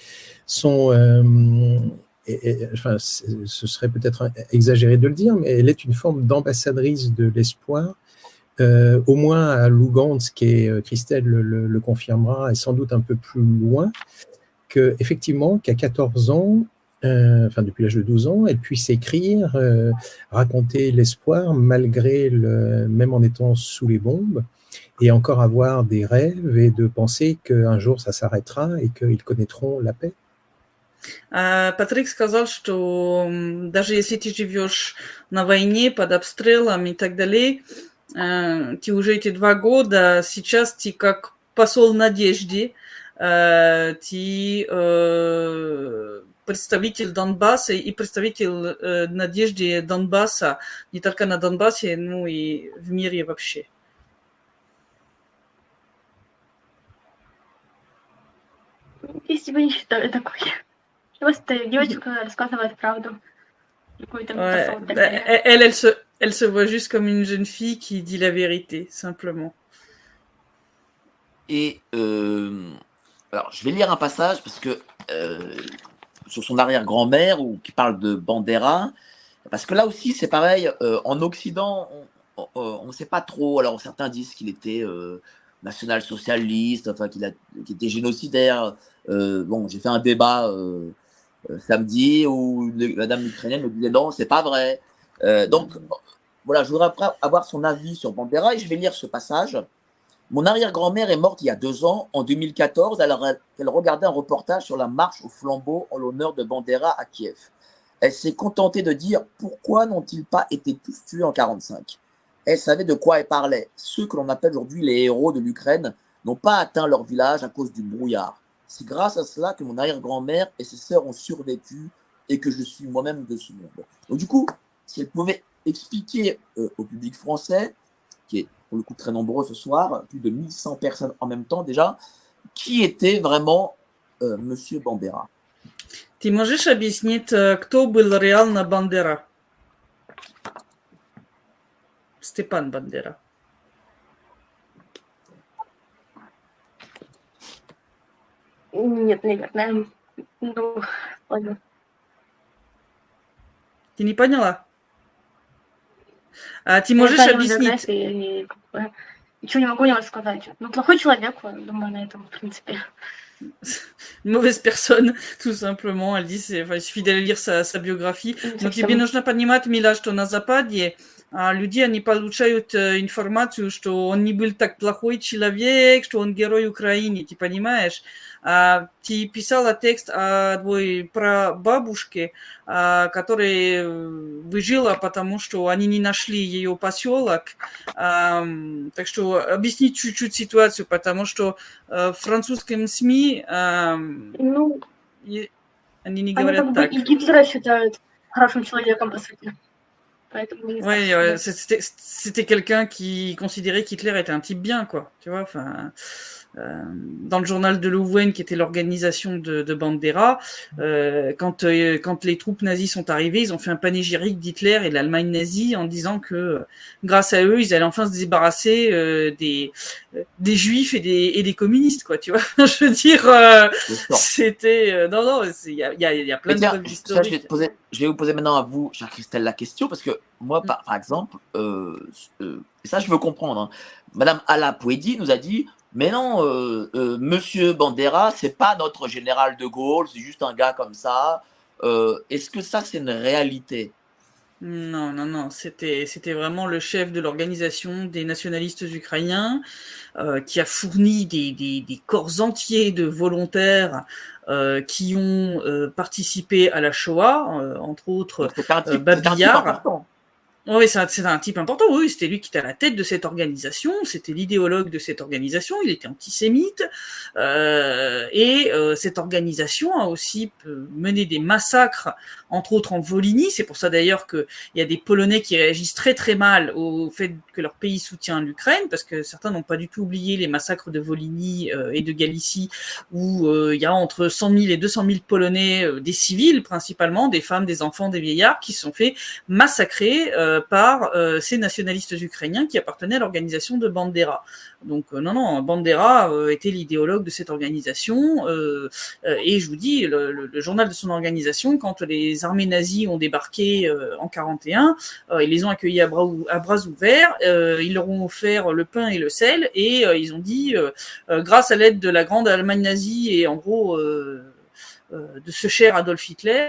ce serait peut-être exagéré de le dire, mais elle est une forme d'ambassadrice de l'espoir. Au moins à Lugansk, et Christelle le confirmera, et sans doute un peu plus loin, qu'effectivement, qu'à 14 ans, depuis l'âge de 12 ans, elle puisse écrire, raconter l'espoir, même en étant sous les bombes, et encore avoir des rêves et de penser qu'un jour ça s'arrêtera et qu'ils connaîtront la paix. Патрик сказал, что даже если ты живешь на войне, под обстрелом и так далее, ты уже эти 2 года, сейчас ты как посол надежды, ты представитель Донбасса и представитель надежды Донбасса, не только на Донбассе, но и в мире вообще. Я себя не считаю такой. Просто девочка рассказывает правду. Elle se voit juste comme une jeune fille qui dit la vérité, simplement. Et alors, je vais lire un passage parce que sur son arrière-grand-mère qui parle de Bandera, parce que là aussi c'est pareil. En Occident, on ne sait pas trop. Alors certains disent qu'il était national-socialiste, qu'il était génocidaire. Bon, j'ai fait un débat samedi où la dame ukrainienne me disait non, c'est pas vrai. Donc voilà, je voudrais avoir son avis sur Bandera et je vais lire ce passage. Mon arrière-grand-mère est morte il y a 2 ans, en 2014, alors elle regardait un reportage sur la marche au flambeau en l'honneur de Bandera à Kiev. Elle s'est contentée de dire pourquoi n'ont-ils pas été tous tués en 1945. Elle savait de quoi elle parlait. Ceux que l'on appelle aujourd'hui les héros de l'Ukraine n'ont pas atteint leur village à cause du brouillard. C'est grâce à cela que mon arrière-grand-mère et ses sœurs ont survécu et que je suis moi-même de ce monde. Donc du coup, si elle pouvait expliquer au public français, qui est pour le coup très nombreux ce soir, plus de 1100 personnes en même temps déjà, qui était vraiment Monsieur Bandera. Ты можешь объяснить, кто был реально Бандера? Степан Бандера. Нет, наверное. Ну, ладно. Ты не поняла? Ты можешь объяснить? Ничего не могу сказать. Ну, плохой человек, думаю, на этом, в принципе. Une mauvaise personne, tout simplement. Elle dit, il suffit d'aller lire sa biographie. Но тебе нужно понимать, Мила, что на Западе люди, они получают информацию, что он не был так плохой человек, что он герой Украины, ты понимаешь? Ты писала текст о твоей прабабушке, которая выжила, потому что они не нашли ее поселок. Так что объясни чуть-чуть ситуацию, потому что в французском СМИ они не говорят так. И Гитлера считают хорошим человеком, по сути. Ouais, c'était quelqu'un qui considérait qu'Hitler était un type bien, quoi. Tu vois, enfin. Dans le journal de Louvain, qui était l'organisation de Bandera, quand les troupes nazies sont arrivées, ils ont fait un panégyrique d'Hitler et de l'Allemagne nazie en disant que grâce à eux, ils allaient enfin se débarrasser des juifs et des communistes, quoi. Tu vois, je veux dire, c'était non, il y a plein de preuves historiques. Je vais vous poser maintenant à vous, chère Christelle, la question parce que moi, par exemple, ça je veux comprendre. Hein. Madame Ala Pouedi nous a dit. Mais non, Monsieur Bandera, c'est pas notre général de Gaulle, c'est juste un gars comme ça. Est-ce que ça, c'est une réalité ? Non. C'était vraiment le chef de l'organisation des nationalistes ukrainiens qui a fourni des corps entiers de volontaires qui ont participé à la Shoah, entre autres Babillard. Oui, c'est un type important. Oui, c'était lui qui était à la tête de cette organisation. C'était l'idéologue de cette organisation. Il était antisémite. Et cette organisation a aussi mené des massacres, entre autres en Volhynie. C'est pour ça d'ailleurs qu'il y a des Polonais qui réagissent très très mal au fait que leur pays soutient l'Ukraine, parce que certains n'ont pas du tout oublié les massacres de Volhynie et de Galicie, où il y a entre 100 000 et 200 000 Polonais, des civils principalement, des femmes, des enfants, des vieillards, qui se sont fait massacrer par ces nationalistes ukrainiens qui appartenaient à l'organisation de Bandera. Donc non, Bandera était l'idéologue de cette organisation et je vous dis, le journal de son organisation, quand les armées nazies ont débarqué en 41, ils les ont accueillis à bras ouverts, ils leur ont offert le pain et le sel et ils ont dit, grâce à l'aide de la grande Allemagne nazie et en gros de ce cher Adolf Hitler,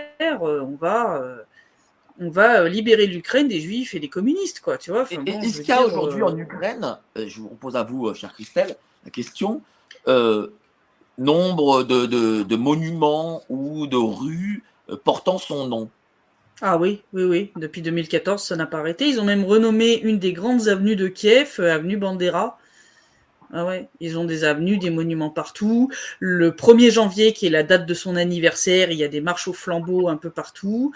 on va libérer l'Ukraine des juifs et des communistes, quoi, tu vois. Enfin, bon, est-ce qu'il y a aujourd'hui en Ukraine, je vous pose à vous, chère Christelle, la question, nombre de monuments ou de rues portant son nom? Ah oui. Depuis 2014, ça n'a pas arrêté. Ils ont même renommé une des grandes avenues de Kiev, avenue Bandera. Ah ouais, ils ont des avenues, des monuments partout. Le 1er janvier, qui est la date de son anniversaire, il y a des marches aux flambeaux un peu partout.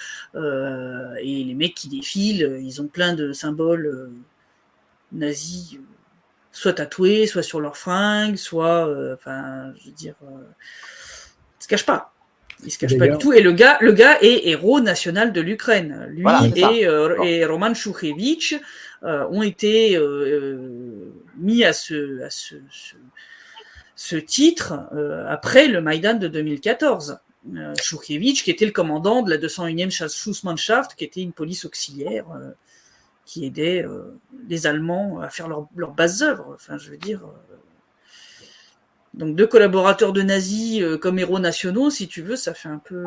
Et les mecs qui défilent, ils ont plein de symboles nazis, soit tatoués, soit sur leurs fringues, soit, je veux dire, ils se cachent pas. Il se cache pas du tout. Et le gars est héros national de l'Ukraine. Lui et Roman Shukhevich ont été mis à ce titre après le Maïdan de 2014. Shukhevich, qui était le commandant de la 201e Schussmannschaft, qui était une police auxiliaire qui aidait les Allemands à faire leurs bases œuvres. Enfin, je veux dire. Donc 2 collaborateurs de nazis comme héros nationaux, si tu veux, ça fait un peu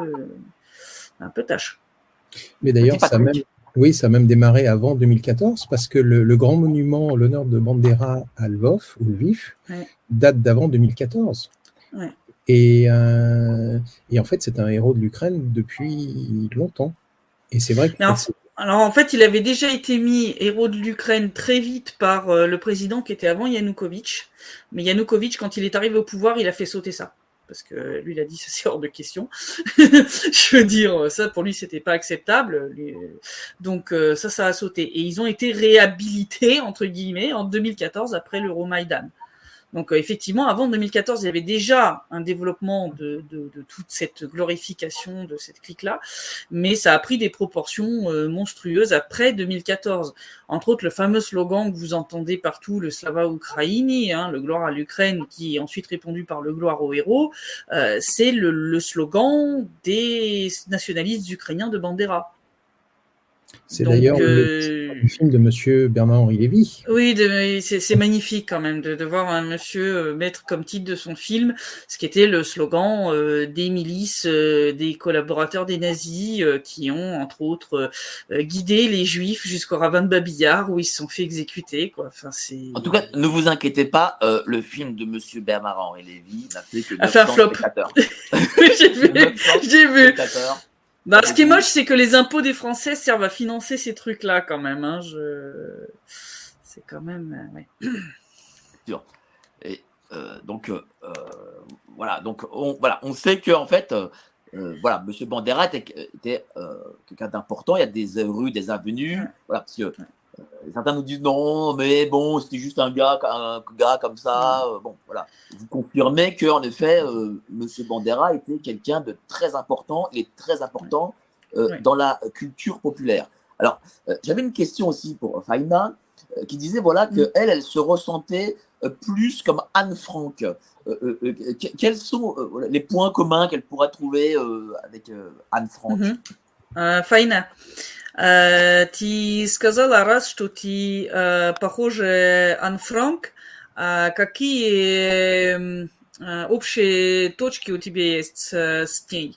tâche. Mais d'ailleurs, ça a même démarré avant 2014, parce que le grand monument en l'honneur de Bandera à Lvov, ou Lviv, date d'avant 2014. Ouais. Et en fait, c'est un héros de l'Ukraine depuis longtemps. Et c'est vrai que... Alors en fait, il avait déjà été mis héros de l'Ukraine très vite par le président qui était avant Yanukovych. Mais Yanukovych, quand il est arrivé au pouvoir, il a fait sauter ça. Parce que lui, il a dit ça, c'est hors de question. Je veux dire, ça pour lui, c'était pas acceptable. Donc ça a sauté. Et ils ont été réhabilités, entre guillemets, en 2014 après l'Euromaïdan. Donc effectivement, avant 2014, il y avait déjà un développement de toute cette glorification de cette clique-là, mais ça a pris des proportions monstrueuses après 2014. Entre autres, le fameux slogan que vous entendez partout, le Slava Ukraini, le gloire à l'Ukraine, qui est ensuite répondu par le gloire aux héros, c'est le slogan des nationalistes ukrainiens de Bandera. C'est d'ailleurs le film de monsieur Bernard-Henri Lévy. Oui, c'est magnifique quand même de voir un monsieur mettre comme titre de son film ce qui était le slogan des milices, des collaborateurs des nazis qui ont, entre autres, guidé les juifs jusqu'au ravin de Babillard où ils se sont fait exécuter, quoi. Enfin, en tout cas, ne vous inquiétez pas, le film de monsieur Bernard-Henri Lévy n'a fait que 900 spectateurs. J'ai vu. Bah, ce qui est moche, c'est que les impôts des Français servent à financer ces trucs-là, quand même. C'est quand même. Ouais. Sûr. Et donc, voilà. Donc, on sait que en fait, voilà, Monsieur Bandera était quelqu'un d'important. Il y a des rues, des avenues. Voilà, parce que certains nous disent non, mais bon, c'était juste un gars comme ça. Bon, voilà. Vous confirmez qu'en effet, Monsieur Bandera était quelqu'un de très important. Il est très important dans la culture populaire. Alors, j'avais une question aussi pour Faina, qui disait voilà que elle se ressentait plus comme Anne Frank. Quels sont les points communs qu'elle pourrait trouver avec Anne Frank? Фаина, ты сказала раз, что ты похожа Ан Франк. Какие общие точки у тебя есть с ней?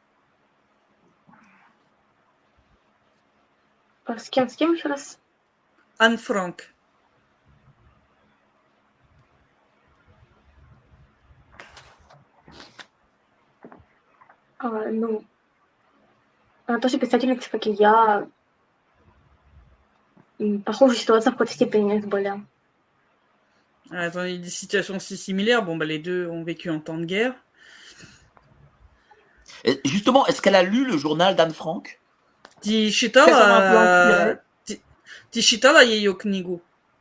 С кем еще раз? Ан Франк. Ну, она тоже писательница, как и я. Похожая ситуация в какой-то степени у них были. Attends, il y a des situations si similaires. Bon, bah, les deux ont vécu en temps de guerre. Et justement, est-ce qu'elle a lu le journal d'Anne Frank? Ты читала ее книгу?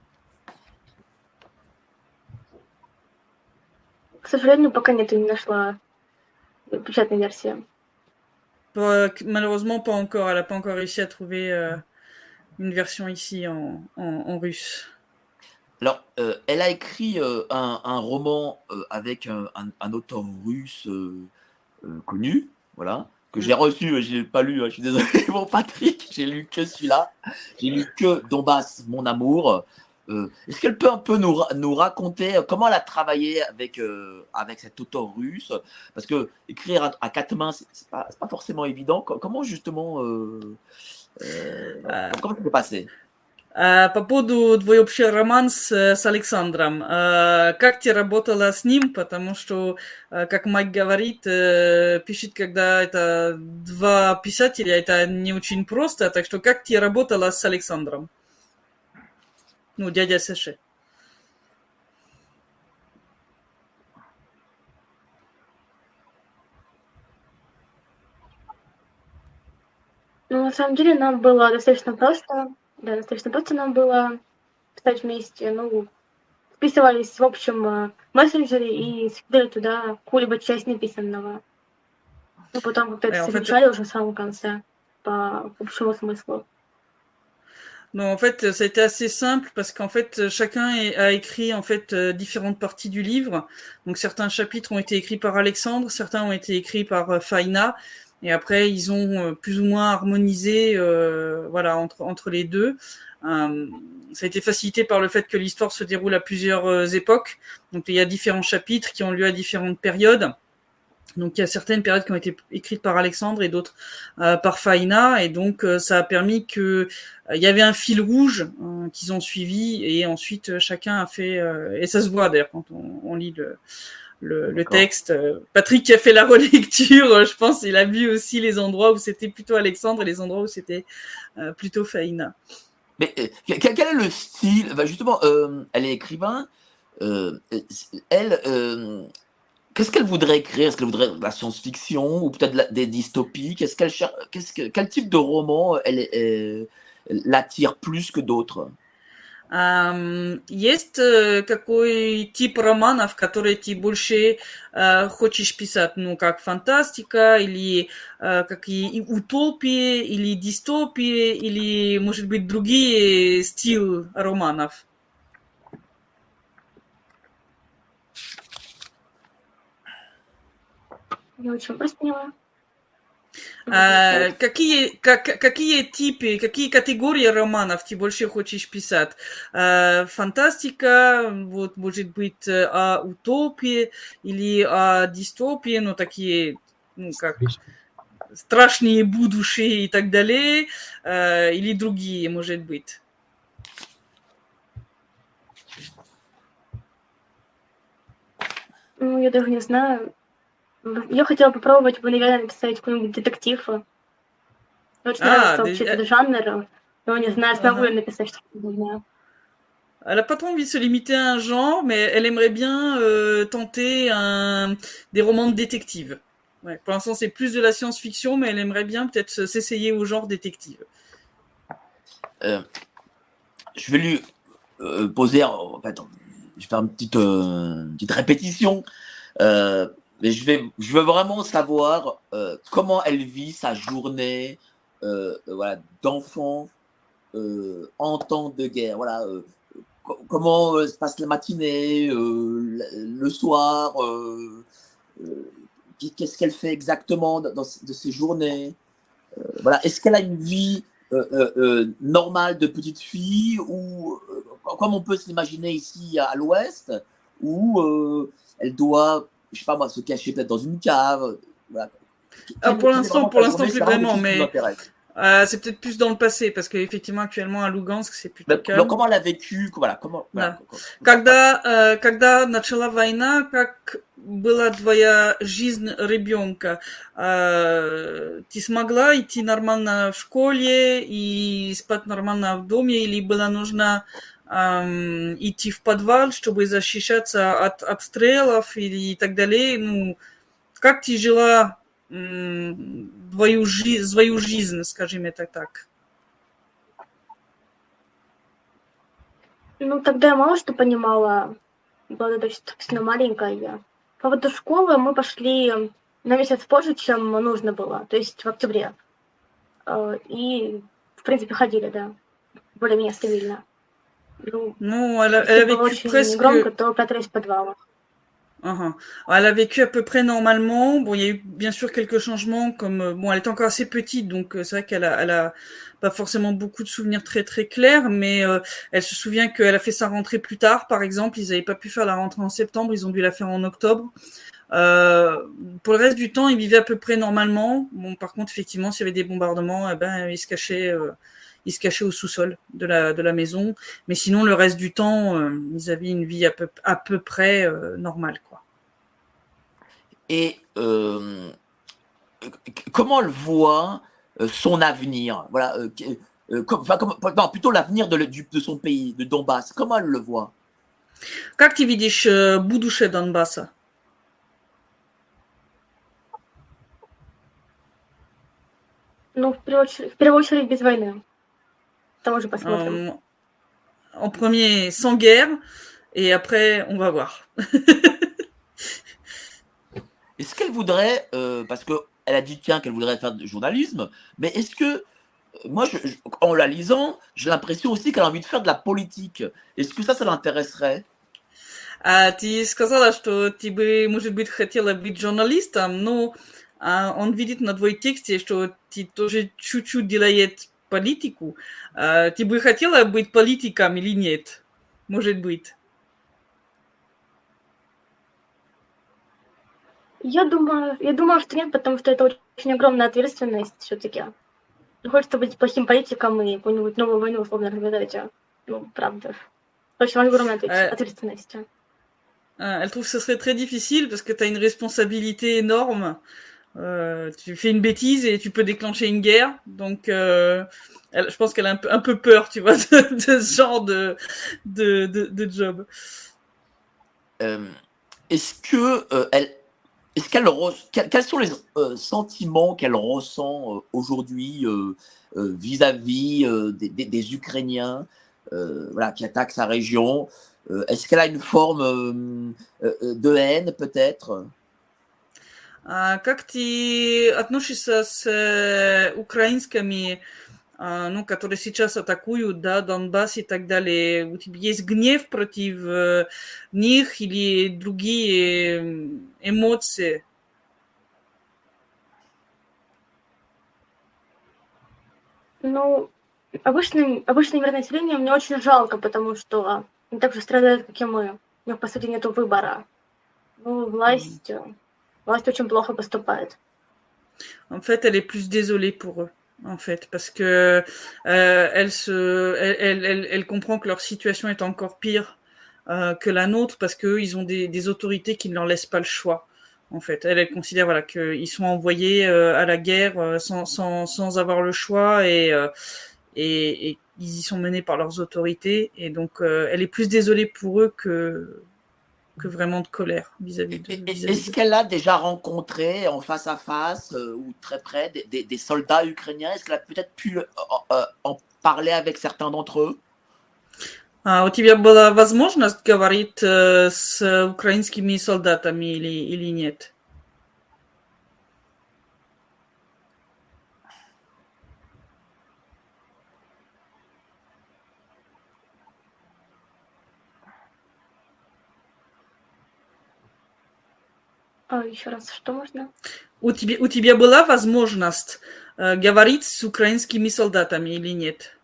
К сожалению, пока нет, не нашла печатной версии. Malheureusement, pas encore. Elle n'a pas encore réussi à trouver une version ici en russe. Alors, elle a écrit un roman avec un auteur russe connu, voilà, que j'ai reçu, je l'ai pas lu, je suis désolé, mon Patrick, j'ai lu que celui-là, j'ai lu que Donbass, mon amour. Est-ce qu'elle peut un peu nous raconter comment elle a travaillé avec cet auteur russe? Parce que écrire à quatre mains, c'est pas forcément évident. Comment justement, comment ça s'est passé? По поводу твой общий роман с Александром. Как ты работала с ним? Потому что, как Майк говорит, пишет, когда это два писателя, это не очень просто. Так что как ты работала с Александром? Ну, дядя Саши. Ну, на самом деле, нам было достаточно просто. Да, достаточно просто нам было писать вместе. Ну, вписывались в общем мессенджере и скидывали туда какую-либо часть написанного. Ну, потом как-то это совмещали уже в самом конце по общему смыслу. Non, en fait, ça a été assez simple parce qu'en fait, chacun a écrit en fait différentes parties du livre. Donc, certains chapitres ont été écrits par Alexandre, certains ont été écrits par Faina, et après, ils ont plus ou moins harmonisé, voilà, entre les deux. Ça a été facilité par le fait que l'histoire se déroule à plusieurs époques. Donc, il y a différents chapitres qui ont lieu à différentes périodes. Donc, il y a certaines périodes qui ont été écrites par Alexandre et d'autres par Faina. Et donc, ça a permis que il y avait un fil rouge qu'ils ont suivi. Et ensuite, chacun a fait... et ça se voit d'ailleurs quand on lit le texte. Patrick qui a fait la relecture, je pense, il a vu aussi les endroits où c'était plutôt Alexandre et les endroits où c'était plutôt Faina. Mais quel est le style? Justement, elle est écrivain. Qu'est-ce qu'elle voudrait écrire? Est-ce qu'elle voudrait de la science-fiction ou peut-être des dystopies? Quel type de roman l'attire plus que d'autres? Есть какой тип романов, которые ты больше хочешь писать? Ну, как фантастика, или какие утопии, или дистопии, или, может быть, другие стиль романов? Не очень просто поняла. Какие типы, какие категории романов ты больше хочешь писать? Фантастика, вот, может быть, о утопии или о дистопии, ну, такие, ну, как страшные будущие и так далее, или другие, может быть? Ну, я даже не знаю. Я хотела попробовать, наверное, написать какой-нибудь детектив. Очень нравится вообще этот жанр, но не знаю, смогу ли написать что-то, не знаю. Elle n'a pas trop envie de se limiter à un genre, mais elle aimerait bien tenter des romans de détective. Ouais, pour l'instant, c'est plus de la science-fiction, mais elle aimerait bien peut-être s'essayer au genre détective. Je vais lui poser, en fait, je vais faire une petite répétition, mais je veux vraiment savoir comment elle vit sa journée, voilà, d'enfant en temps de guerre. Voilà, comment se passe la matinée, le soir, qu'est-ce qu'elle fait exactement de ses journées. Voilà, est-ce qu'elle a une vie normale de petite fille ou comme on peut s'imaginer ici à l'Ouest, où elle doit, je sais pas moi, se cacher peut-être dans une cave. Voilà. Pour l'instant, plus vraiment, mais c'est c'est peut-être plus dans le passé, parce qu'effectivement, actuellement, à Lugansk, c'est plutôt calme. Comment elle a vécu, voilà, comment... Да. Когда начала война, как была твоя жизнь ребенка? Ты смогла идти нормально в школе и спать нормально в доме, или было нужно идти в подвал, чтобы защищаться от обстрелов и так далее? Ну, как ты жила свою жизнь, скажем это так? Ну, тогда я мало что понимала, была достаточно маленькая я. По поводу школы мы пошли на месяц позже, чем нужно было, то есть в октябре. И, в принципе, ходили, да, более-менее стабильно. Ну, elle a vécu очень presque... громко, то прятались в подвалах. Uh-huh. Elle a vécu à peu près normalement. Bon, il y a eu bien sûr quelques changements, comme bon, elle était encore assez petite, donc c'est vrai qu'elle a pas forcément beaucoup de souvenirs très très clairs, mais elle se souvient qu'elle a fait sa rentrée plus tard, par exemple. Ils n'avaient pas pu faire la rentrée en septembre, ils ont dû la faire en octobre. Pour le reste du temps, ils vivaient à peu près normalement. Bon, par contre, effectivement, s'il y avait des bombardements, eh ben, ils se cachaient au sous-sol de la maison. Mais sinon, le reste du temps, ils avaient une vie à peu près normale, quoi. Et comment elle voit son avenir? Voilà, non, plutôt l'avenir de son pays, de Donbass. Comment elle le voit? Как ты видишь будущее Донбасса? Ну, в первую очередь без войны. Там уже посмотрим. En premier, sans guerre, et après, on va voir. Est-ce qu'elle voudrait, parce qu'elle a dit qu'elle voudrait faire du journalisme, mais est-ce que, moi, en la lisant, j'ai l'impression aussi qu'elle a envie de faire de la politique. Est-ce que ça l'intéresserait? Ты сказала, что ты бы, может быть, хотела быть журналистом, но он видит на твоем тексте, что ты тоже чуть-чуть делает политику. Ты бы хотела быть политиком или нет? Может быть. Я думаю, что нет, потому что это очень огромная ответственность все-таки. Хочется быть плохим политиком и какую-нибудь новую войну условно развязать. Ну, правда. Очень огромная ответственность. Elle trouve que ce serait très difficile parce que tu as une responsabilité énorme. Tu fais une bêtise et tu peux déclencher une guerre. Donc, je pense qu'elle a un peu peur, tu vois, de ce genre de job. Quels sont les sentiments qu'elle ressent aujourd'hui vis-à-vis des Ukrainiens voilà, qui attaquent sa région? Est-ce qu'elle a une forme de haine, peut-être? Как ты относишься с украинскими, ну, которые сейчас атакуют, да, Донбасс и так далее? У тебя есть гнев против них или другие эмоции? Ну, обычное мирное население мне очень жалко, потому что они так же страдают, как и мы. У них, по сути, нету выбора. Ну, власть очень плохо поступает. En fait, elle est plus désolée pour eux, en fait, parce que elle comprend que leur situation est encore pire que la nôtre, parce qu'eux, ils ont des autorités qui ne leur laissent pas le choix. En fait, elle considère voilà qu'ils sont envoyés à la guerre sans avoir le choix et ils y sont menés par leurs autorités. Et donc, elle est plus désolée pour eux que que vraiment de colère vis-à-vis Est-ce qu'elle a déjà rencontré en face à face ou très près des soldats ukrainiens? Est-ce qu'elle a peut-être pu en parler avec certains d'entre eux? У тебя была возможность говорить с украинскими солдатами или нет? Еще раз, что можно? У тебя была возможность говорить с украинскими солдатами или нет?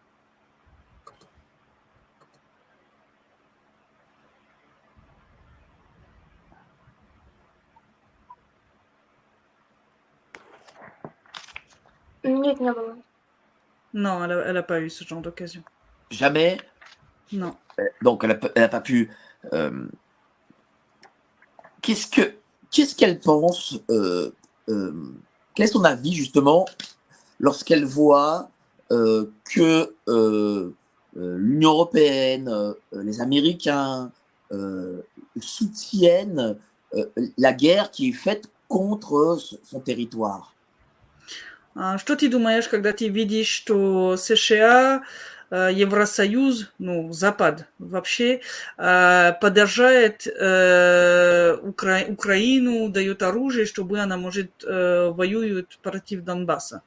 Нет, не было. Non, elle a pas eu ce genre d'occasion. Jamais? Non. Donc, elle a pas pu. Qu'est-ce qu'elle pense quel est son avis, justement, lorsqu'elle voit que l'Union européenne, les Américains soutiennent la guerre qui est faite contre son territoire? Что ты думаешь, когда ты видишь, что США, Евросоюз, ну, Запад вообще, поддержает Украину, дает оружие, чтобы она, может, воюет против Донбасса?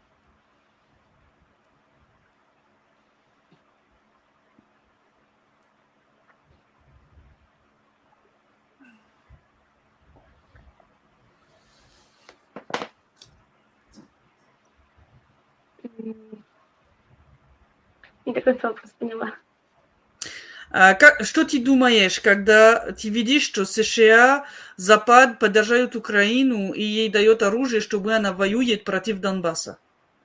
Не до конца вопрос поняла. Что ты думаешь, когда ты видишь, что США, Запад поддерживают Украину и ей дает оружие, чтобы она воюет против Донбасса?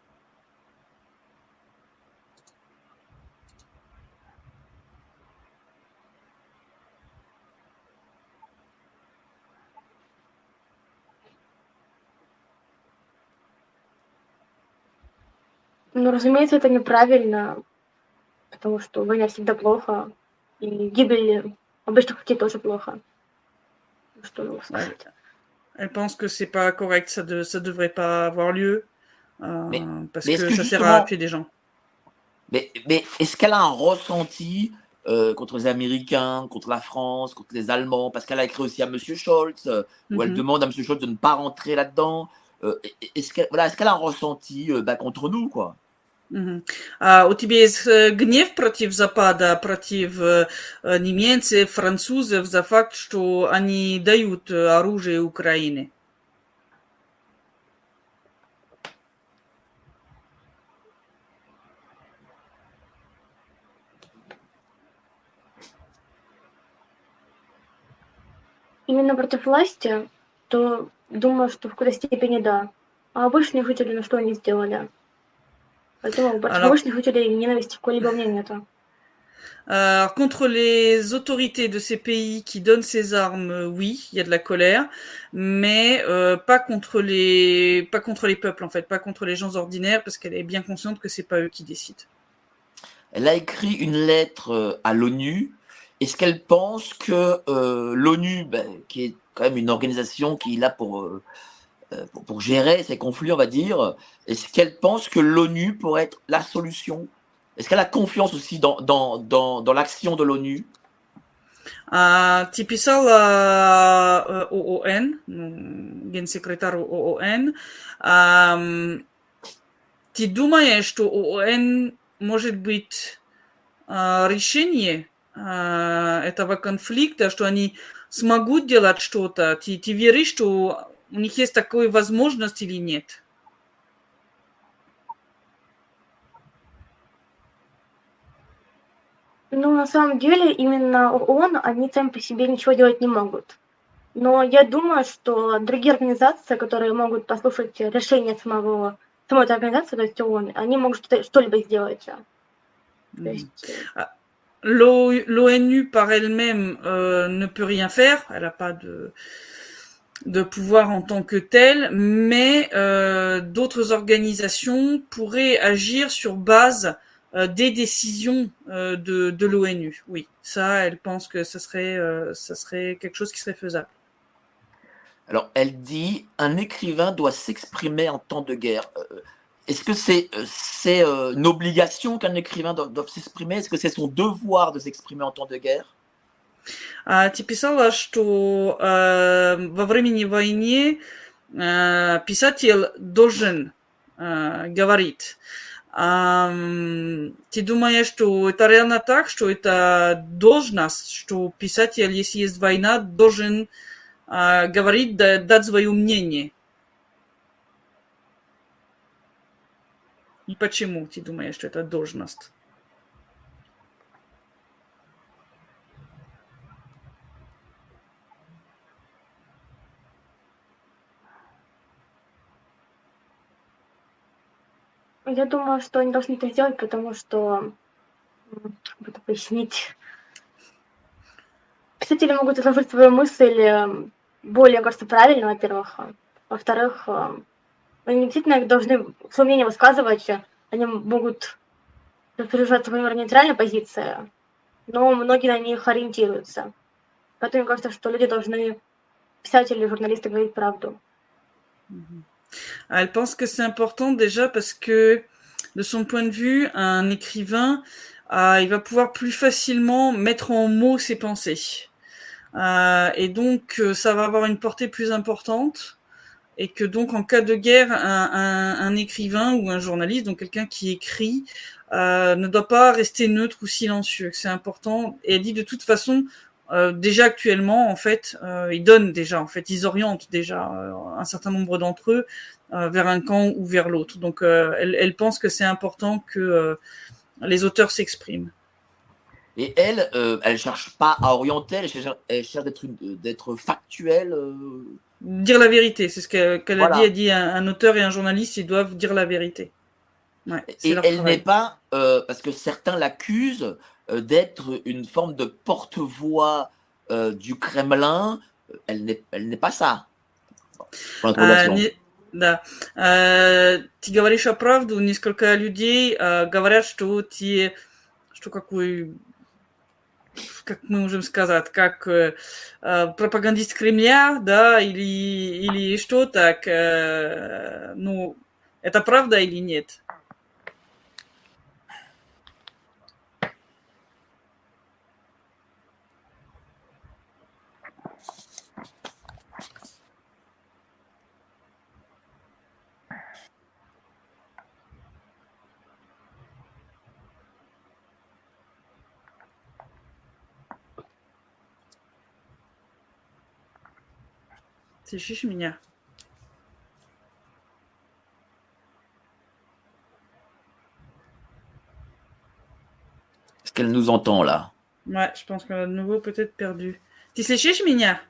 Ну, разумеется, это неправильно, потому что война всегда плохо, и гибель обычных людей тоже плохо. Что je veux сказать? Elle pense que c'est pas correct, ça devrait pas avoir lieu, parce est-ce que que ça sert à justement, tuer des gens. mais est-ce qu'elle a un ressenti contre les Américains, contre la France, contre les Allemands? Parce qu'elle a écrit aussi à Monsieur Scholz, où elle demande à Monsieur Scholz de ne pas rentrer là-dedans. Est-ce qu'elle a un ressenti contre nous, quoi? У тебя есть гнев против Запада, против немцев, французов за факт, что они дают оружие Украине? Именно против власти, то думаю, что в какой-то степени да. А обычные жители, ну что они сделали? Поэтому против обычных жителей ненависти какой-либо у меня нету. Contre les autorités de ces pays qui donnent ces armes, oui, il y a de la colère, mais pas contre les peuples en fait, pas contre les gens ordinaires, parce qu'elle est bien consciente que c'est pas eux qui décident. Elle a écrit une lettre à l'ONU. Est-ce qu'elle pense que l'ONU, qui est quand même une organisation qui est là pour gérer ces conflits, on va dire, est-ce qu'elle pense que l'ONU pourrait être la solution? Est-ce qu'elle a confiance aussi dans l'action de l'ONU? Ты писала ООН, генсекретарю ООН. Ты думаешь, что ООН может быть решение этого конфликта, что они смогут делать что-то? Ты веришь, что у них есть такая возможность или нет? Ну, на самом деле, именно ООН, они сами по себе ничего делать не могут. Но я думаю, что другие организации, которые могут послушать решение самой этой организации, то есть ООН, они могут что-либо сделать. То есть... L'ONU par elle-même ne peut rien faire, elle n'a pas de pouvoir en tant que telle, mais d'autres organisations pourraient agir sur base des décisions de l'ONU. Oui, ça, elle pense que ça serait quelque chose qui serait faisable. Alors, elle dit un écrivain doit s'exprimer en temps de guerre. Est-ce que c'est une obligation qu'un écrivain doit s'exprimer? Est-ce que c'est son devoir de s'exprimer en temps de guerre? Ты писала, что во времени войны писатель должен говорить. Ты думаешь, что это реально так, что это должность, что писатель, если есть война, должен говорить, дать свое мнение? И почему ты думаешь, что это должность? Я думаю, что они должны это сделать, потому что, как это пояснить, писатели могут изложить свою мысль более, кажется, правильно, во-первых. Во-вторых, они действительно должны свое мнение высказывать, они могут придерживаться своей нейтральной позиции, но многие на них ориентируются. Поэтому мне кажется, что люди должны, писатели, журналисты, говорить правду. Elle pense que c'est important déjà parce que, de son point de vue, un écrivain, il va pouvoir plus facilement mettre en mots ses pensées. Et donc, ça va avoir une portée plus importante. Et que donc, en cas de guerre, un écrivain ou un journaliste, donc quelqu'un qui écrit, ne doit pas rester neutre ou silencieux. C'est important. Et elle dit de toute façon, déjà actuellement, en fait, ils donnent déjà, en fait, ils orientent déjà un certain nombre d'entre eux vers un camp ou vers l'autre. Donc, elle pense que c'est important que les auteurs s'expriment. Et elle cherche pas à orienter, elle cherche d'être factuelle. Dire la vérité, c'est ce qu'elle Voilà. a dit. Elle dit un auteur et un journaliste, ils doivent dire la vérité. Ouais, et elle n'est pas, parce que certains l'accusent d'être une forme de porte-voix du Kremlin. Elle n'est pas ça. Да. Ты говоришь правду. Несколько людей говорят, что ты, что какой, как мы можем сказать, как пропагандист Кремля, да, или что так. Ну, это правда или нет? Слышишь меня? Est-ce qu'elle nous entend là? Ouais, je pense qu'on a de nouveau peut-être perdu. Tu слышишь меня?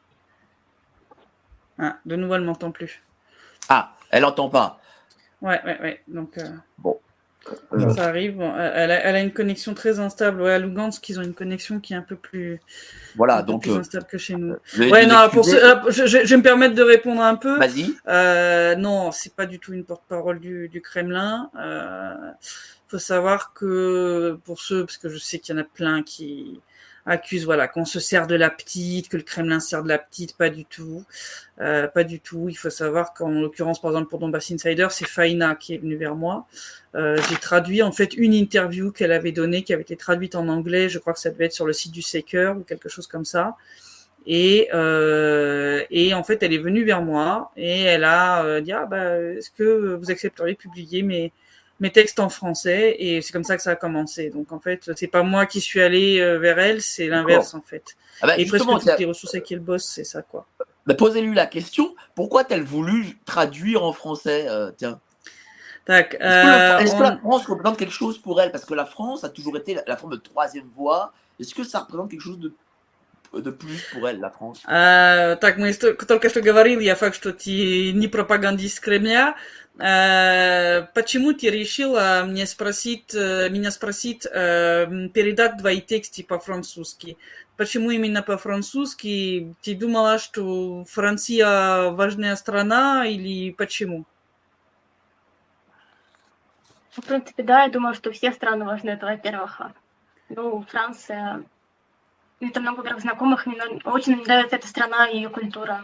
Ah, de nouveau, elle m'entend plus. Ah, elle n'entend pas. Ouais. Donc, bon. Ça arrive. Bon, elle a une connexion très instable. Ouais, à Lugansk, ils ont une connexion qui est un peu plus, plus instable que chez nous. Je vais me permettre de répondre un peu. Vas-y. Non, c'est pas du tout une porte-parole du Kremlin. Faut savoir que parce que je sais qu'il y en a plein qui accusent, qu'on se sert de la petite, que le Kremlin sert de la petite, pas du tout. Il faut savoir qu'en l'occurrence, par exemple, pour Donbass Insider, c'est Faina qui est venue vers moi. J'ai traduit en fait une interview qu'elle avait donnée, qui avait été traduite en anglais. Je crois que ça devait être sur le site du Seeker ou quelque chose comme ça. Et en fait, elle est venue vers moi et elle a dit est-ce que vous accepteriez de publier mes textes en français? Et c'est comme ça que ça a commencé. Donc en fait, c'est pas moi qui suis allé vers elle, c'est l'inverse en fait. Et presque toutes les ressources avec qui elle bosse, c'est ça quoi. Posez-lui la question, pourquoi a-t-elle voulu traduire en français tiens. Est-ce que la France représente quelque chose pour elle? Parce que la France a toujours été la forme de troisième voie. Est-ce que ça représente quelque chose de plus pour elle, la France? Так, мы только что говорили о факте, что ты не пропагандист Кремля. Почему ты решила меня спросить передать твои тексты по-французски? Почему именно по-французски? Ты думала, что Франция важная страна или почему? В принципе, да, я думаю, что все страны важны, это во-первых. Ну, Франция, это много, во-первых, знакомых, мне очень нравится эта страна и ее культура.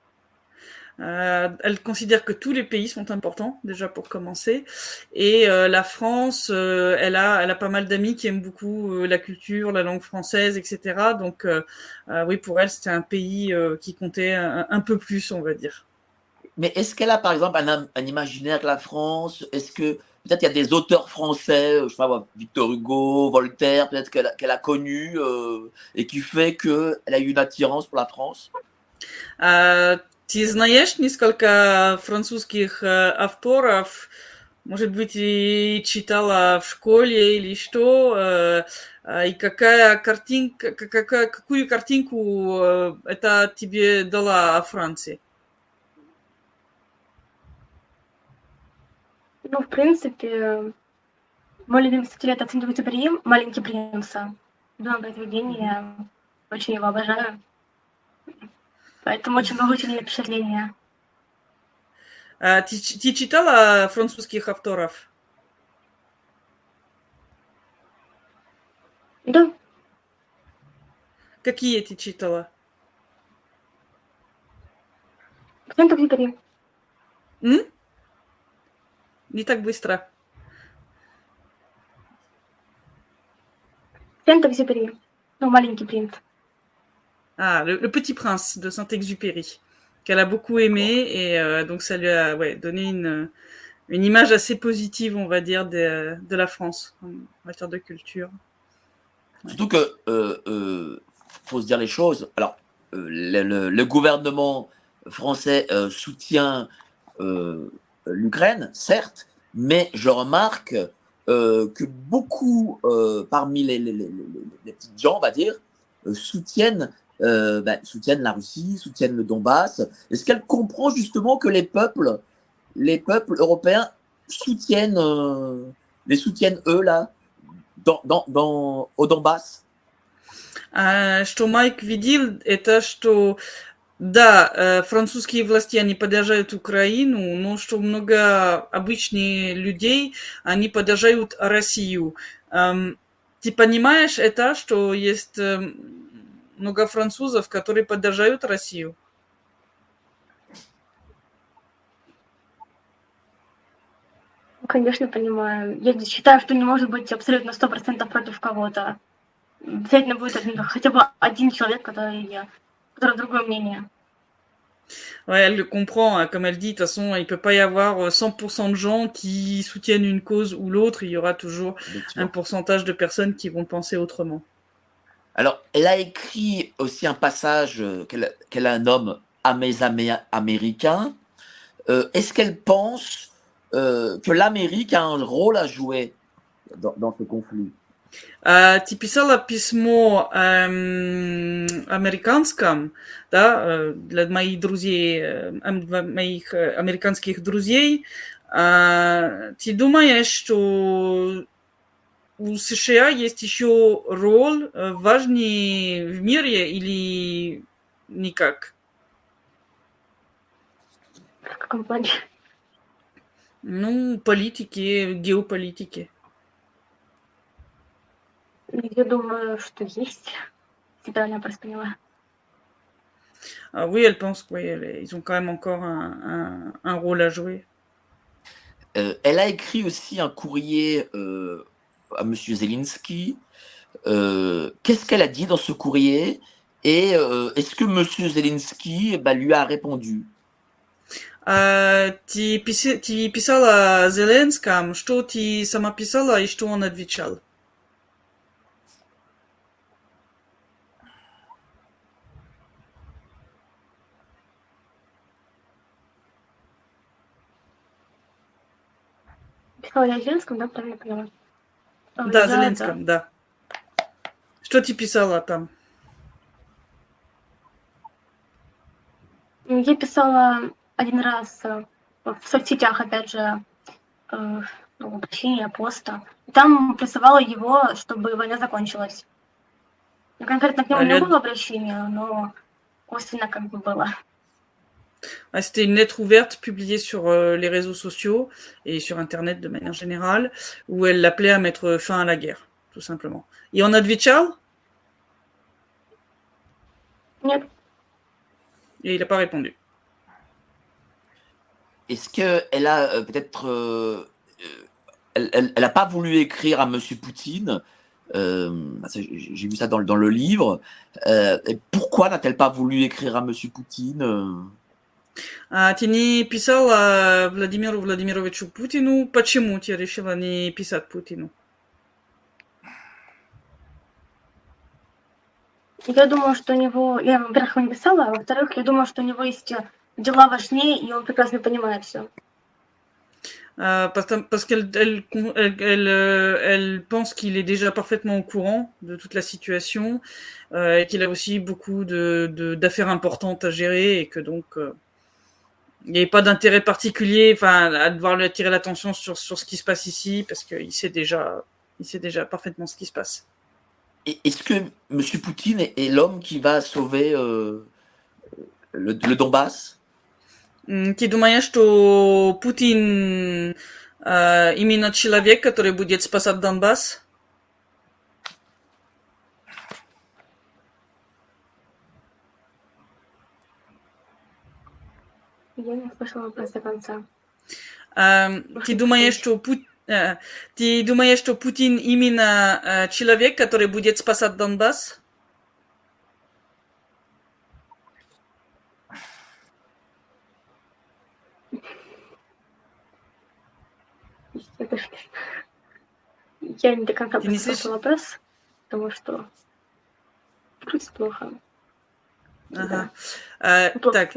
Elle considère que tous les pays sont importants, déjà pour commencer. Et la France, elle a pas mal d'amis qui aiment beaucoup la culture, la langue française, etc. Donc oui, pour elle, c'était un pays qui comptait un peu plus, on va dire. Mais est-ce qu'elle a par exemple un imaginaire de la France? Est-ce que peut-être il y a des auteurs français, je sais pas, Victor Hugo, Voltaire, peut-être qu'elle a connu et qui fait qu'elle a eu une attirance pour la France? Ты знаешь несколько французских авторов, может быть, и читала в школе или что, и какую картинку это тебе дала о Франции? Ну, в принципе, мой любимый стиль — это «Сент-Экзюпери», «Маленький принц». Любимое произведение, очень его обожаю. Поэтому очень много сильное впечатление. Ты читала французских авторов? Да. Какие ты читала? «Сент-Экзюпери». Не так быстро. «Сент-Экзюпери». Ну, «Маленький принц». Le Petit Prince de Saint-Exupéry, qu'elle a beaucoup aimé, et donc ça lui a donné une image assez positive, on va dire, de la France en matière de culture. Surtout que faut se dire les choses. Alors, le gouvernement français soutient l'Ukraine, certes, mais je remarque que beaucoup parmi les petites gens, on va dire, soutiennent la Russie, soutiennent le Donbass. Est-ce qu'elle comprend justement que les peuples européens les soutiennent eux là, au Donbass? Что Майк видел, это что, да, французские власти, они поддерживают Украину, но что много обычных людей, они поддерживают Россию. Ты понимаешь это, что есть много французов, которые поддерживают Россию? Конечно, понимаю. Я считаю, что не может быть абсолютно 100% против кого-то. Обязательно будет хотя бы один человек, который другое мнение. Ouais, elle le comprend, hein. Comme elle dit, de toute façon, il ne peut pas y avoir 100% de gens qui soutiennent une cause ou l'autre. Il y aura toujours un pourcentage de personnes qui vont penser autrement. Alors, elle a écrit aussi un passage qu'elle nomme « À mes amis américains ». Est-ce qu'elle pense que l'Amérique a un rôle à jouer dans ce conflit? Ты писала письмо американском, да, для моих друзей, моих американских друзей. Ты думаешь, что у США есть еще роль важный в мире или никак? В каком плане? Ну, политики, геополитики. Я думаю, что есть. Si правильно просто поняла. Oui, elle pense qu'ils ont quand même encore un rôle à jouer. Elle a écrit aussi un courrier à M. Zelensky. Qu'est-ce qu'elle a dit dans ce courrier? Et est-ce que M. Zelensky lui a répondu? Ты писала Зеленскому, что ты сама писала и что он отвечал? Писала я Зеленскому, да, правильно поняла? Да, Зеленскому, да. Что ты писала там? Я писала один раз в соцсетях, опять же, обращение, поста. Там призывала его, чтобы война закончилась. Конкретно к нему не было обращения, но косвенно как бы было. C'était une lettre ouverte publiée sur les réseaux sociaux et sur Internet de manière générale, où elle l'appelait à mettre fin à la guerre, tout simplement. Et on отвечал? Нет. Et il n'a pas répondu. Est-ce qu'elle a peut-être... elle n'a pas voulu écrire à Monsieur Poutine. J'ai vu ça dans le livre. Et pourquoi n'a-t-elle pas voulu écrire à Monsieur Poutine А ты не писала Владимиру Владимировичу Путину? Почему ты решила не писать Путину? Я думаю, что у него... Я, во-первых, ему не писала, а во-вторых, я думаю, что у него есть дела важнее, и он прекрасно понимает все. Parce qu'elle pense qu'il est déjà parfaitement au courant de toute la situation, et qu'il a aussi beaucoup d'affaires importantes à gérer, et que donc il n'y avait pas d'intérêt particulier, à devoir lui attirer l'attention sur ce qui se passe ici, parce qu'il sait déjà parfaitement ce qui se passe. Est-ce que M. Poutine est l'homme qui va sauver le Donbass? Ты думаешь, что Путин именно человек, который будет спасать Донбасс? Я не слышала вопрос до конца. Ты думаешь, что Путин именно человек, который будет спасать Донбасс? Я не до конца послушала вопрос, потому что плохо. Ага. Плохо.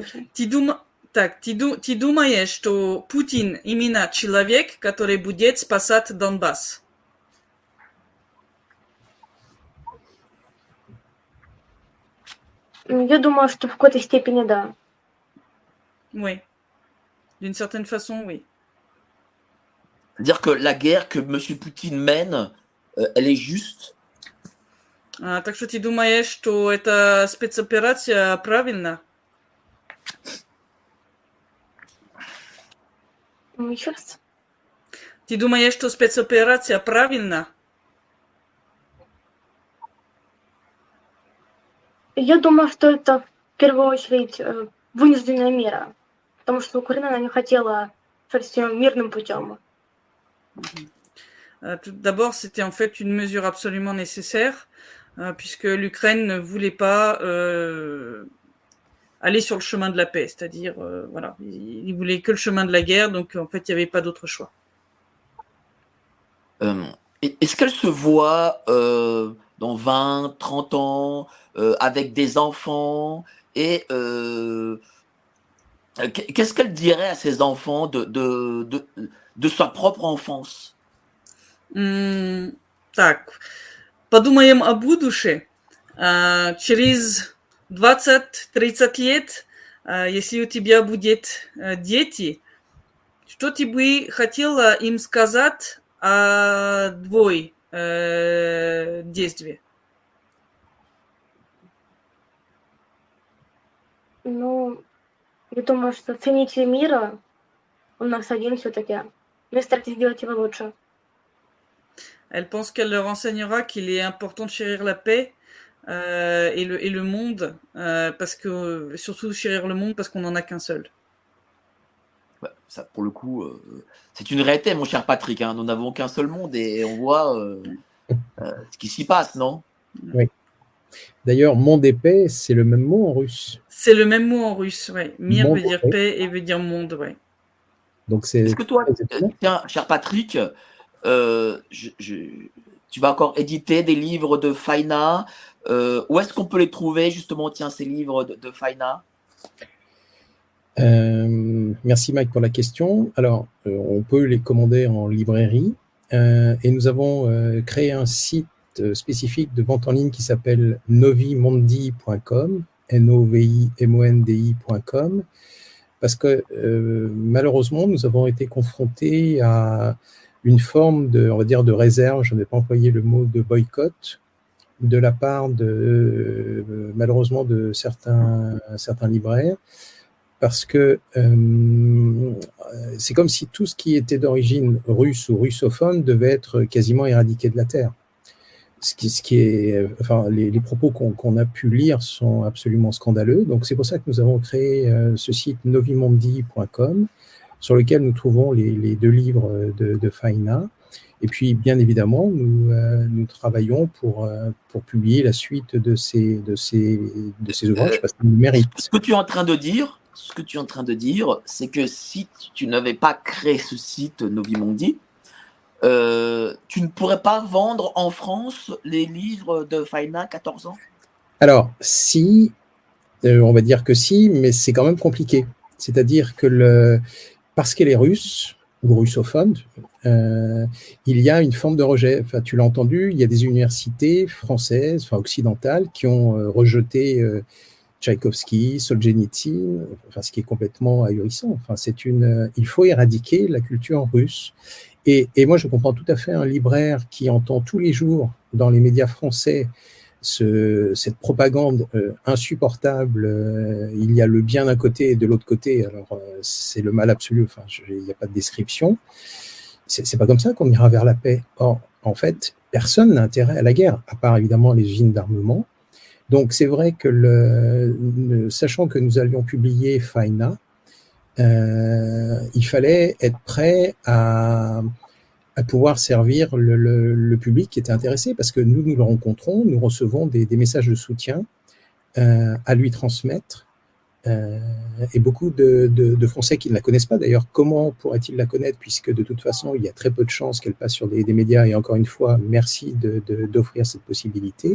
Ты думаешь, что Путин именно человек, который будет спасать Донбасс? Я думаю, что в какой-то степени да. Oui. D'une certaine façon, oui. C'est-à-dire que la guerre que M. Poutine mène, elle est juste. Так что ты думаешь, что эта спецоперация правильна? Еще раз. Ты думаешь, что спецоперация правильна? Я думаю, что это в первую очередь вынужденная мера, потому что Украина она не хотела шать мирным путем. D'abord, c'était en fait une mesure absolument nécessaire, puisque l'Ukraine ne voulait pas aller sur le chemin de la paix, c'est-à-dire, voilà, il voulait que le chemin de la guerre, donc en fait, il n'y avait pas d'autre choix. Est-ce qu'elle se voit dans 20, 30 ans, avec des enfants, et qu'est-ce qu'elle dirait à ses enfants de sa propre enfance? Так, подумаем о будущем. Через 20-30 лет, если у тебя будет дети, что ты бы хотела им сказать о твоей действии? Ну, я думаю, что цените мира у нас один все-таки. Mais старайтесь сделать его лучше. Elle pense qu'elle leur enseignera qu'il est important de chérir la paix et le monde, parce que surtout chérir le monde parce qu'on n'en a qu'un seul. Ouais, ça, pour le coup, c'est une réalité, mon cher Patrick. Nous n'avons qu'un seul monde et on voit ce qui s'y passe, non? Oui. D'ailleurs, monde et paix, c'est le même mot en russe. C'est le même mot en russe, oui. Mir Monde, veut dire oui. paix et veut dire monde, oui. Donc c'est. Est-ce que toi, tiens, cher Patrick, tu vas encore éditer des livres de Faina. Où est-ce qu'on peut les trouver, justement, tiens, ces livres de Faina? Merci Mike pour la question. Alors, on peut les commander en librairie et nous avons créé un site spécifique de vente en ligne qui s'appelle novimondi.com, novimondi.com, parce que malheureusement, nous avons été confrontés à une forme de, on va dire, de réserve, je n'ai pas employé le mot de boycott, de la part de, malheureusement, de certains libraires, parce que c'est comme si tout ce qui était d'origine russe ou russophone devait être quasiment éradiqué de la Terre. Les propos qu'on a pu lire sont absolument scandaleux. Donc c'est pour ça que nous avons créé ce site novimondi.com, sur lequel nous trouvons les 2 livres de Faina. Et puis, bien évidemment, nous travaillons pour publier la suite de ces ouvrages, parce qu'ils méritent. Ce que tu es en train de dire, c'est que si tu n'avais pas créé ce site Novimondi, tu ne pourrais pas vendre en France les livres de Faina 14 ans? Alors, si, on va dire que si, mais c'est quand même compliqué. C'est-à-dire que parce qu'elle est russe, ou russophone, il y a une forme de rejet. Enfin, tu l'as entendu, il y a des universités françaises, occidentales, qui ont rejeté Tchaïkovski, Solzhenitsyn, ce qui est complètement ahurissant. Il faut éradiquer la culture russe. Et moi, je comprends tout à fait un libraire qui entend tous les jours dans les médias français cette propagande insupportable. Il y a le bien d'un côté et de l'autre côté. Alors, c'est le mal absolu. Il n'y a pas de description. C'est pas comme ça qu'on ira vers la paix. Or, en fait, personne n'a intérêt à la guerre, à part évidemment les usines d'armement. Donc, c'est vrai que sachant que nous allions publier Faina, il fallait être prêt à pouvoir servir le public qui était intéressé, parce que nous le rencontrons, nous recevons des messages de soutien à lui transmettre, et beaucoup de Français qui ne la connaissent pas. D'ailleurs, comment pourraient-ils la connaître, puisque de toute façon, il y a très peu de chances qu'elle passe sur des médias, et encore une fois, merci d'offrir cette possibilité.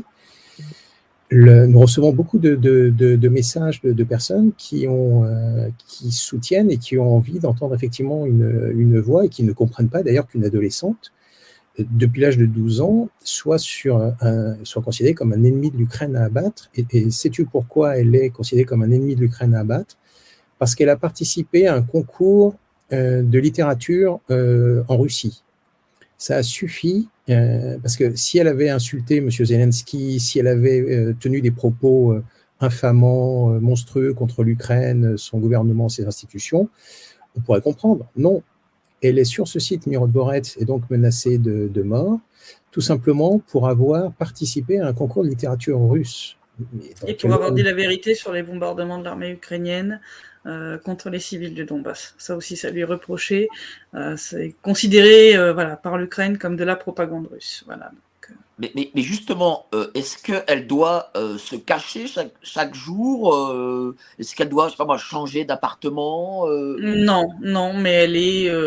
Nous recevons beaucoup de messages de personnes qui soutiennent et qui ont envie d'entendre effectivement une voix, et qui ne comprennent pas d'ailleurs qu'une adolescente, depuis l'âge de 12 ans, soit considérée comme un ennemi de l'Ukraine à abattre. Et sais-tu pourquoi elle est considérée comme un ennemi de l'Ukraine à abattre? Parce qu'elle a participé à un concours de littérature en Russie. Ça a suffi, parce que si elle avait insulté M. Zelensky, si elle avait tenu des propos infamants, monstrueux contre l'Ukraine, son gouvernement, ses institutions, on pourrait comprendre. Non, elle est sur ce site Mirodvorets, et donc menacée de mort, tout simplement pour avoir participé à un concours de littérature russe. Et pour avoir dit la vérité sur les bombardements de l'armée ukrainienne contre les civils du Donbass. Ça aussi, ça lui est reproché. C'est considéré par l'Ukraine comme de la propagande russe. Voilà. Mais justement, est-ce qu'elle doit se cacher chaque jour? Est-ce qu'elle doit, je sais pas moi, changer d'appartement? Non, mais elle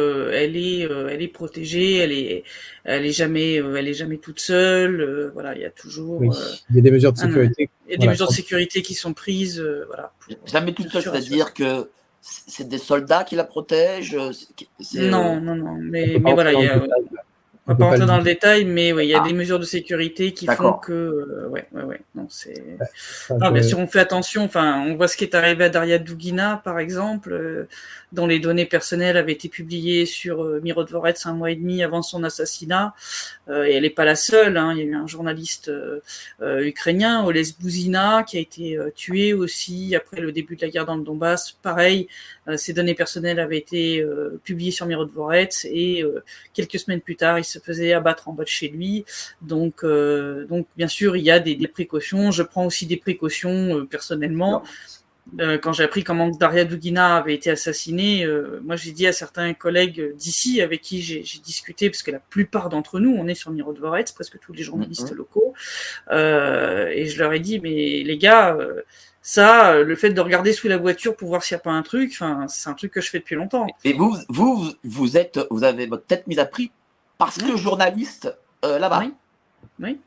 est protégée. Elle est jamais toute seule. Voilà, il y a toujours. Oui, il y a des mesures de sécurité. Il y a des mesures de sécurité qui sont prises. Jamais toute seule, c'est-à-dire que c'est des soldats qui la protègent. Non, mais voilà, il y a. On va pas rentrer dans le détail, mais oui, il y a des mesures de sécurité qui font que, non, c'est. Non, bien sûr, on fait attention. Enfin, on voit ce qui est arrivé à Daria Dugina, par exemple, dont les données personnelles avaient été publiées sur Mirodvorets 1 mois et demi avant son assassinat. Et elle n'est pas la seule. Hein. Il y a eu un journaliste ukrainien, Oles Bouzina, qui a été tué aussi après le début de la guerre dans le Donbass. Pareil, ses données personnelles avaient été publiées sur Mirodvorets, et quelques semaines plus tard, il se faisait abattre en bas de chez lui. Donc bien sûr, il y a des précautions. Je prends aussi des précautions personnellement. Quand j'ai appris comment Daria Dugina avait été assassinée, moi j'ai dit à certains collègues d'ici avec qui j'ai discuté, parce que la plupart d'entre nous, on est sur Mirodvorets, presque tous les journalistes locaux, et je leur ai dit, mais les gars, le fait de regarder sous la voiture pour voir s'il n'y a pas un truc, c'est un truc que je fais depuis longtemps. Et vous avez votre tête mise à prix parce que journaliste là-bas. Oui.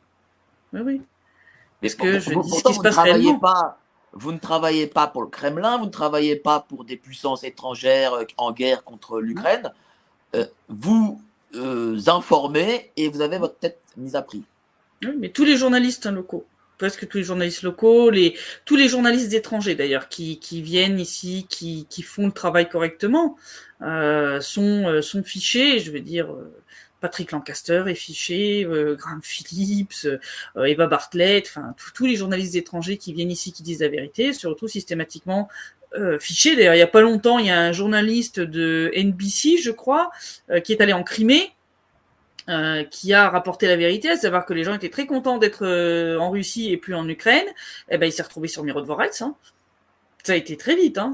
Parce que je dis ce qui se passe réellement. Vous ne travaillez pas pour le Kremlin, vous ne travaillez pas pour des puissances étrangères en guerre contre l'Ukraine. Vous informez et vous avez votre tête mise à prix. Oui, mais tous les journalistes locaux, presque tous les journalistes locaux, tous les journalistes étrangers d'ailleurs, qui viennent ici, qui font le travail correctement, sont fichés. Je veux dire, Patrick Lancaster est fiché, Graham Phillips, Eva Bartlett, enfin tous les journalistes étrangers qui viennent ici qui disent la vérité, se retrouvent systématiquement fichés. D'ailleurs, il y a pas longtemps, il y a un journaliste de NBC, je crois, qui est allé en Crimée, qui a rapporté la vérité, à savoir que les gens étaient très contents d'être en Russie et plus en Ukraine. Eh ben, il s'est retrouvé sur Mirodvorets. Hein. Ça a été très vite. Hein.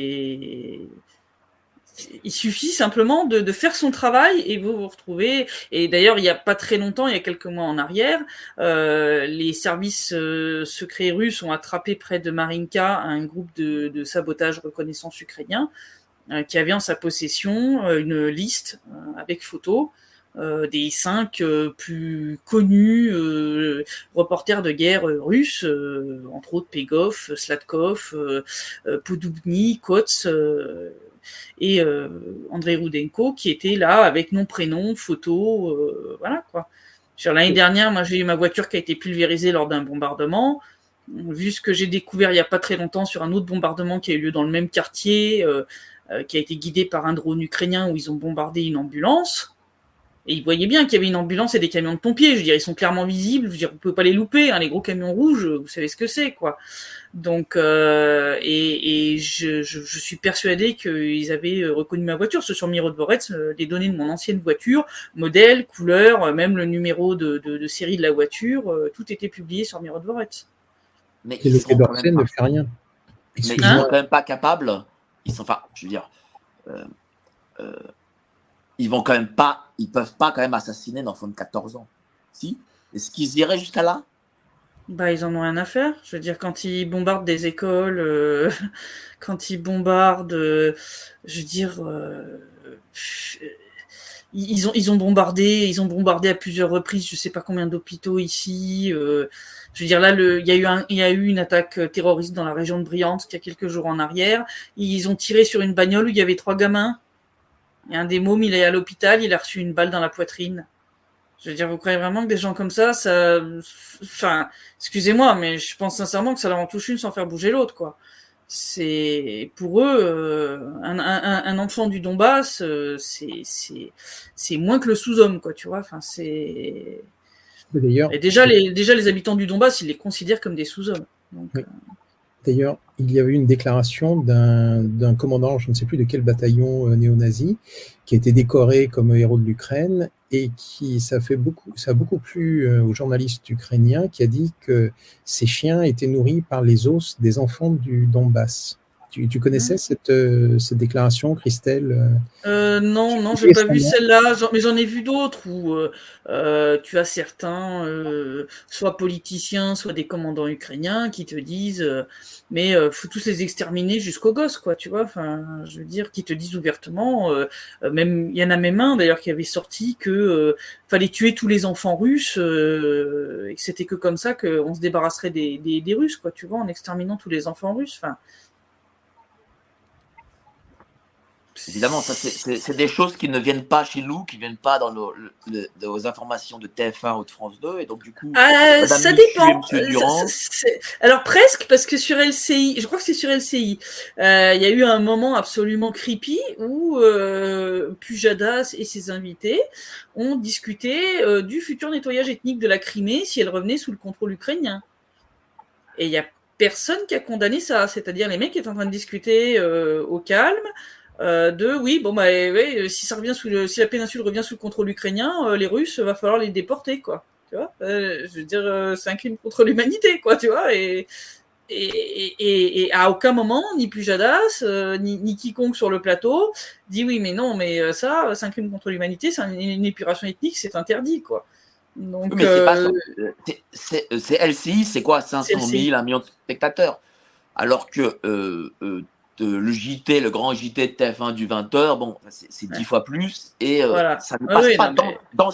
Il suffit simplement de faire son travail et vous vous retrouvez. Et d'ailleurs, il n'y a pas très longtemps, il y a quelques mois en arrière, les services secrets russes ont attrapé près de Marinka un groupe de sabotage reconnaissance ukrainien qui avait en sa possession une liste avec photos des 5 plus connus reporters de guerre russes, entre autres Pegov, Slatkov, Podobny, Kots et Andrei Rudenko, qui étaient là avec nom, prénom, photo, voilà quoi. L'année dernière, moi j'ai eu ma voiture qui a été pulvérisée lors d'un bombardement. Vu ce que j'ai découvert il n'y a pas très longtemps sur un autre bombardement qui a eu lieu dans le même quartier, qui a été guidé par un drone ukrainien où ils ont bombardé une ambulance. Et ils voyaient bien qu'il y avait une ambulance et des camions de pompiers. Je veux dire, ils sont clairement visibles. Je veux dire, vous pouvez pas les louper. Hein, les gros camions rouges, vous savez ce que c'est, quoi. Donc, je suis persuadé qu'ils avaient reconnu ma voiture. Sur Mirodvorets, les données de mon ancienne voiture, modèle, couleur, même le numéro de série de la voiture, tout était publié sur Mirodvorets. Mais et le Quai d'Orsay ne fait rien. Mais ils sont quand même pas capables. Enfin, je veux dire. Ils peuvent pas quand même assassiner un enfant de 14 ans. Si? Est-ce qu'ils iraient jusqu'à là? Bah, ils en ont rien à faire. Je veux dire, quand ils bombardent des écoles, quand ils bombardent, je veux dire, ils ont bombardé à plusieurs reprises, je sais pas combien d'hôpitaux ici. Je veux dire, là, il y a eu une attaque terroriste dans la région de Bryansk il y a quelques jours en arrière. Ils ont tiré sur une bagnole où il y avait 3 gamins. Il y a un des mômes, il est à l'hôpital, il a reçu une balle dans la poitrine. Je veux dire, vous croyez vraiment que des gens comme ça, enfin, excusez-moi, mais je pense sincèrement que ça leur en touche une sans faire bouger l'autre, quoi. C'est, pour eux, un enfant du Donbass, c'est moins que le sous-homme, quoi, tu vois, enfin, c'est... D'ailleurs, et déjà les habitants du Donbass, ils les considèrent comme des sous-hommes. Donc, oui. D'ailleurs, il y avait une déclaration d'un commandant, je ne sais plus de quel bataillon néo-nazi, qui a été décoré comme héros de l'Ukraine et ça a beaucoup plu aux journalistes ukrainiens, qui a dit que ces chiens étaient nourris par les os des enfants du Donbass. Tu connaissais cette déclaration, Christelle? Non, j'ai pas vu celle-là, mais j'en ai vu d'autres où tu as certains, soit politiciens, soit des commandants ukrainiens qui te disent mais faut tous les exterminer jusqu'aux gosses, quoi, tu vois. Enfin, je veux dire, qui te disent ouvertement, même il y en a même un d'ailleurs qui avait sorti que fallait tuer tous les enfants russes et que c'était que comme ça qu'on se débarrasserait des Russes, quoi, tu vois, en exterminant tous les enfants russes. Enfin. Évidemment, ça c'est des choses qui ne viennent pas chez nous, qui ne viennent pas dans nos informations de TF1 ou de France 2, et donc du coup, ça dépend. Alors presque, parce que sur LCI, je crois que c'est sur LCI, il y a eu un moment absolument creepy où Pujadas et ses invités ont discuté du futur nettoyage ethnique de la Crimée si elle revenait sous le contrôle ukrainien. Et il y a personne qui a condamné ça, c'est-à-dire les mecs qui étaient en train de discuter au calme. Si ça revient si la péninsule revient sous le contrôle ukrainien, les Russes, va falloir les déporter, quoi. Tu vois, je veux dire, c'est un crime contre l'humanité, quoi, tu vois. Et à aucun moment, ni Pujadas, ni quiconque sur le plateau dit oui, mais non, mais ça, c'est un crime contre l'humanité, c'est une épuration ethnique, c'est interdit, quoi. Donc, oui, mais c'est pas ça. C'est LCI, c'est quoi, 500 000, 1 million de spectateurs, alors que le JT, le grand JT de TF1 du 20h, bon, c'est 10 fois plus, et voilà. ça ne passe pas dans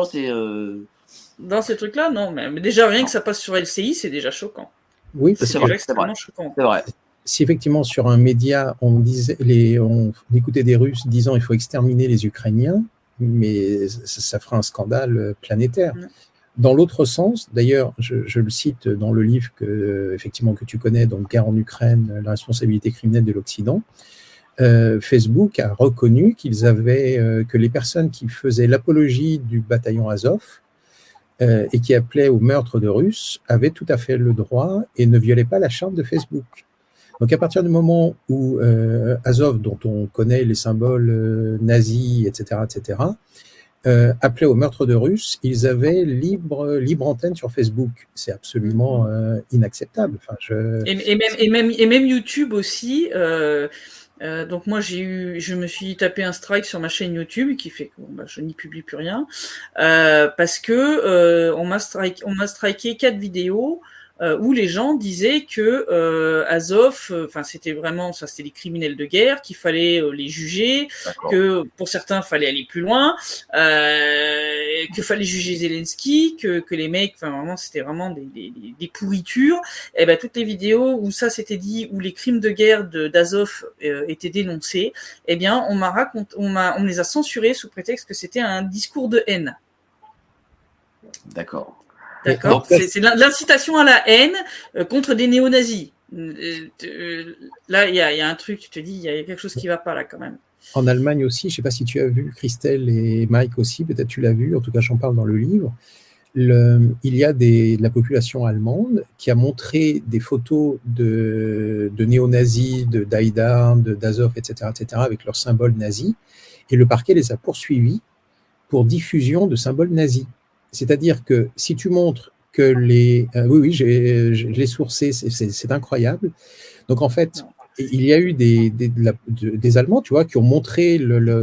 ces trucs-là, non, mais déjà rien que ça passe sur LCI, c'est déjà choquant. Oui, c'est déjà extrêmement choquant. C'est vrai. Si effectivement sur un média on écoutait des Russes disant il faut exterminer les Ukrainiens, mais ça ferait un scandale planétaire. Dans l'autre sens, d'ailleurs, je le cite dans le livre que tu connais, donc Guerre en Ukraine, la responsabilité criminelle de l'Occident, Facebook a reconnu que les personnes qui faisaient l'apologie du bataillon Azov et qui appelaient au meurtre de Russes avaient tout à fait le droit et ne violaient pas la charte de Facebook. Donc à partir du moment où Azov, dont on connaît les symboles nazis, etc., appelaient au meurtre de Russes, ils avaient libre antenne sur Facebook. C'est absolument inacceptable. Enfin, et même YouTube aussi. Donc moi je me suis tapé un strike sur ma chaîne YouTube qui fait que je n'y publie plus rien parce que on m'a striké 4 vidéos où les gens disaient que Azov, c'était des criminels de guerre, qu'il fallait les juger, que pour certains fallait aller plus loin, qu'il fallait juger Zelensky, que les mecs, vraiment c'était vraiment des pourritures. Et ben toutes les vidéos où ça s'était dit, où les crimes de guerre d'Azov étaient dénoncés, eh bien on me les a censurés sous prétexte que c'était un discours de haine. D'accord. D'accord, c'est l'incitation à la haine contre des néo-nazis. Là, il y a un truc, tu te dis, il y a quelque chose qui va pas là quand même. En Allemagne aussi, je ne sais pas si tu as vu, Christelle et Mike aussi, peut-être tu l'as vu, en tout cas j'en parle dans le livre. Il y a de la population allemande qui a montré des photos de néo-nazis, d'Aïdar, d'Azov, etc., avec leurs symboles nazis, et le parquet les a poursuivis pour diffusion de symboles nazis. C'est-à-dire que si tu montres que je l'ai sourcé, c'est incroyable. Donc en fait, il y a eu des Allemands, tu vois, qui ont montré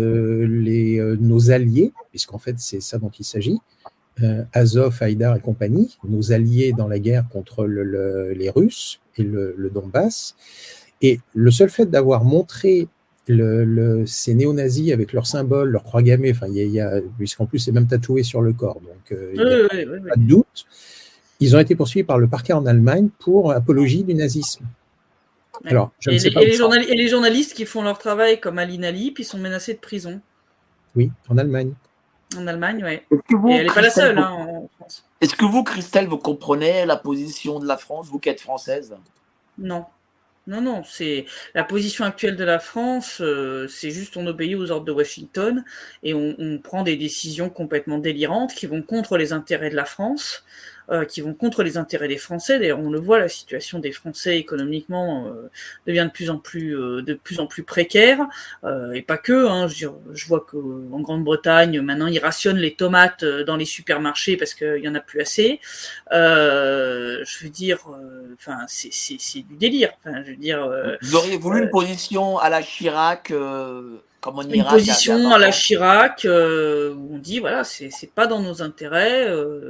nos alliés, puisqu'en fait c'est ça dont il s'agit, Azov, Haïdar et compagnie, nos alliés dans la guerre contre les Russes et le Donbass. Et le seul fait d'avoir montré ces néo-nazis avec leurs symboles, leurs croix gammées, puisqu'en plus c'est même tatoué sur le corps, donc il n'y a pas de doute. Ils ont été poursuivis par le parquet en Allemagne pour apologie du nazisme. Alors, je ne sais pas et les journalistes qui font leur travail comme Aline Ali, puis sont menacés de prison. Oui, en Allemagne. En Allemagne, oui. Et elle n'est pas la seule en France. Est-ce que vous, Christelle, vous comprenez la position de la France, vous qui êtes française ? Non. Non, c'est la position actuelle de la France, c'est juste on obéit aux ordres de Washington et on prend des décisions complètement délirantes qui vont contre les intérêts de la France, qui vont contre les intérêts des Français. D'ailleurs, on le voit, la situation des Français économiquement devient de plus en plus précaire, et pas que. Je vois qu'en Grande-Bretagne, maintenant, ils rationnent les tomates dans les supermarchés parce qu'il y en a plus assez. Je veux dire, c'est du délire. Vous auriez voulu une position à la Chirac, comme en Irak. Une position à la Chirac où on dit voilà, c'est pas dans nos intérêts.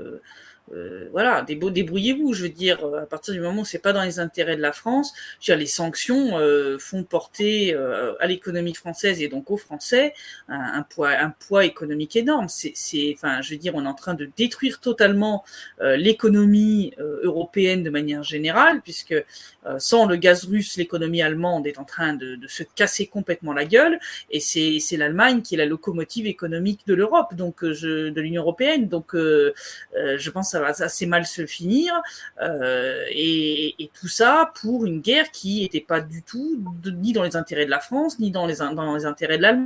Débrouillez-vous. Je veux dire, à partir du moment où c'est pas dans les intérêts de la France, je veux dire, les sanctions font porter à l'économie française et donc aux Français un poids économique énorme. Je veux dire, on est en train de détruire totalement l'économie européenne de manière générale, puisque sans le gaz russe, l'économie allemande est en train de se casser complètement la gueule, et c'est l'Allemagne qui est la locomotive économique de l'Europe, donc de l'Union européenne. Donc je pense que ça va assez mal se finir, et tout ça pour une guerre qui n'était pas du tout ni dans les intérêts de la France, ni dans les intérêts de l'Allemagne.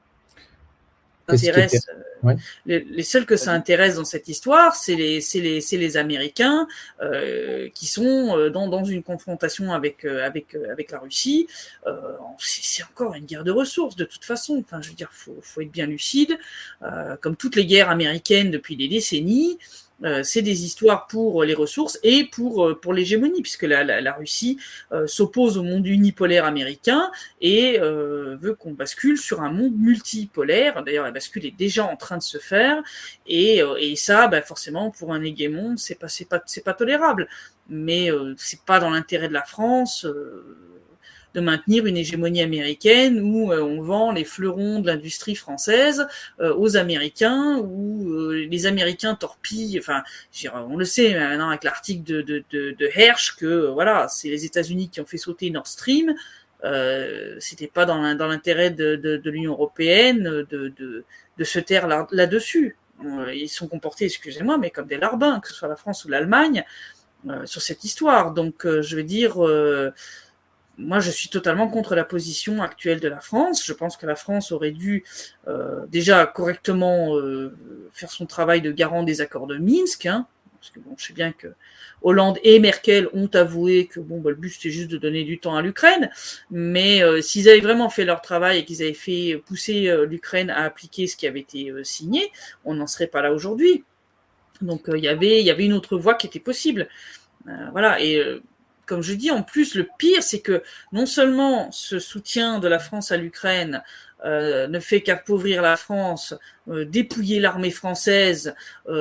Les seuls que ça intéresse dans cette histoire, c'est les Américains qui sont dans une confrontation avec la Russie. C'est encore une guerre de ressources de toute façon. Je veux dire, faut être bien lucide. Comme toutes les guerres américaines depuis des décennies, c'est des histoires pour les ressources et pour l'hégémonie, puisque la Russie s'oppose au monde unipolaire américain et veut qu'on bascule sur un monde multipolaire. D'ailleurs, la bascule est déjà en train de se faire, et ça, forcément, pour un hégémon, c'est pas tolérable. Mais c'est pas dans l'intérêt de la France de maintenir une hégémonie américaine où on vend les fleurons de l'industrie française aux Américains, où les Américains torpillent, on le sait maintenant avec l'article de Hersh que voilà, c'est les États-Unis qui ont fait sauter Nord Stream. C'était pas dans l'intérêt de l'Union européenne de se taire là-dessus. Ils sont comportés, excusez-moi, mais comme des larbins, que ce soit la France ou l'Allemagne, sur cette histoire. Donc je veux dire, moi, je suis totalement contre la position actuelle de la France. Je pense que la France aurait dû déjà correctement faire son travail de garant des accords de Minsk, hein, parce que bon, je sais bien que Hollande et Merkel ont avoué que bon, le but c'était juste de donner du temps à l'Ukraine, mais s'ils avaient vraiment fait leur travail et qu'ils avaient fait pousser l'Ukraine à appliquer ce qui avait été signé, on n'en serait pas là aujourd'hui. Donc il y avait une autre voie qui était possible. Voilà, et comme je dis, en plus, le pire, c'est que non seulement ce soutien de la France à l'Ukraine ne fait qu'appauvrir la France, dépouiller l'armée française,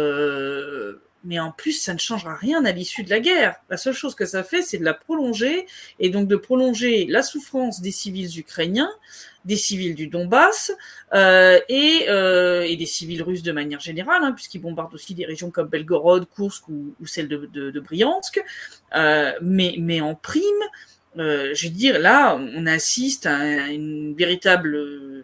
mais en plus, ça ne changera rien à l'issue de la guerre. La seule chose que ça fait, c'est de la prolonger, et donc de prolonger la souffrance des civils ukrainiens, des civils du Donbass, et des civils russes de manière générale, hein, puisqu'ils bombardent aussi des régions comme Belgorod, Koursk ou celle de Bryansk. Mais en prime, je veux dire, là, on assiste à une véritable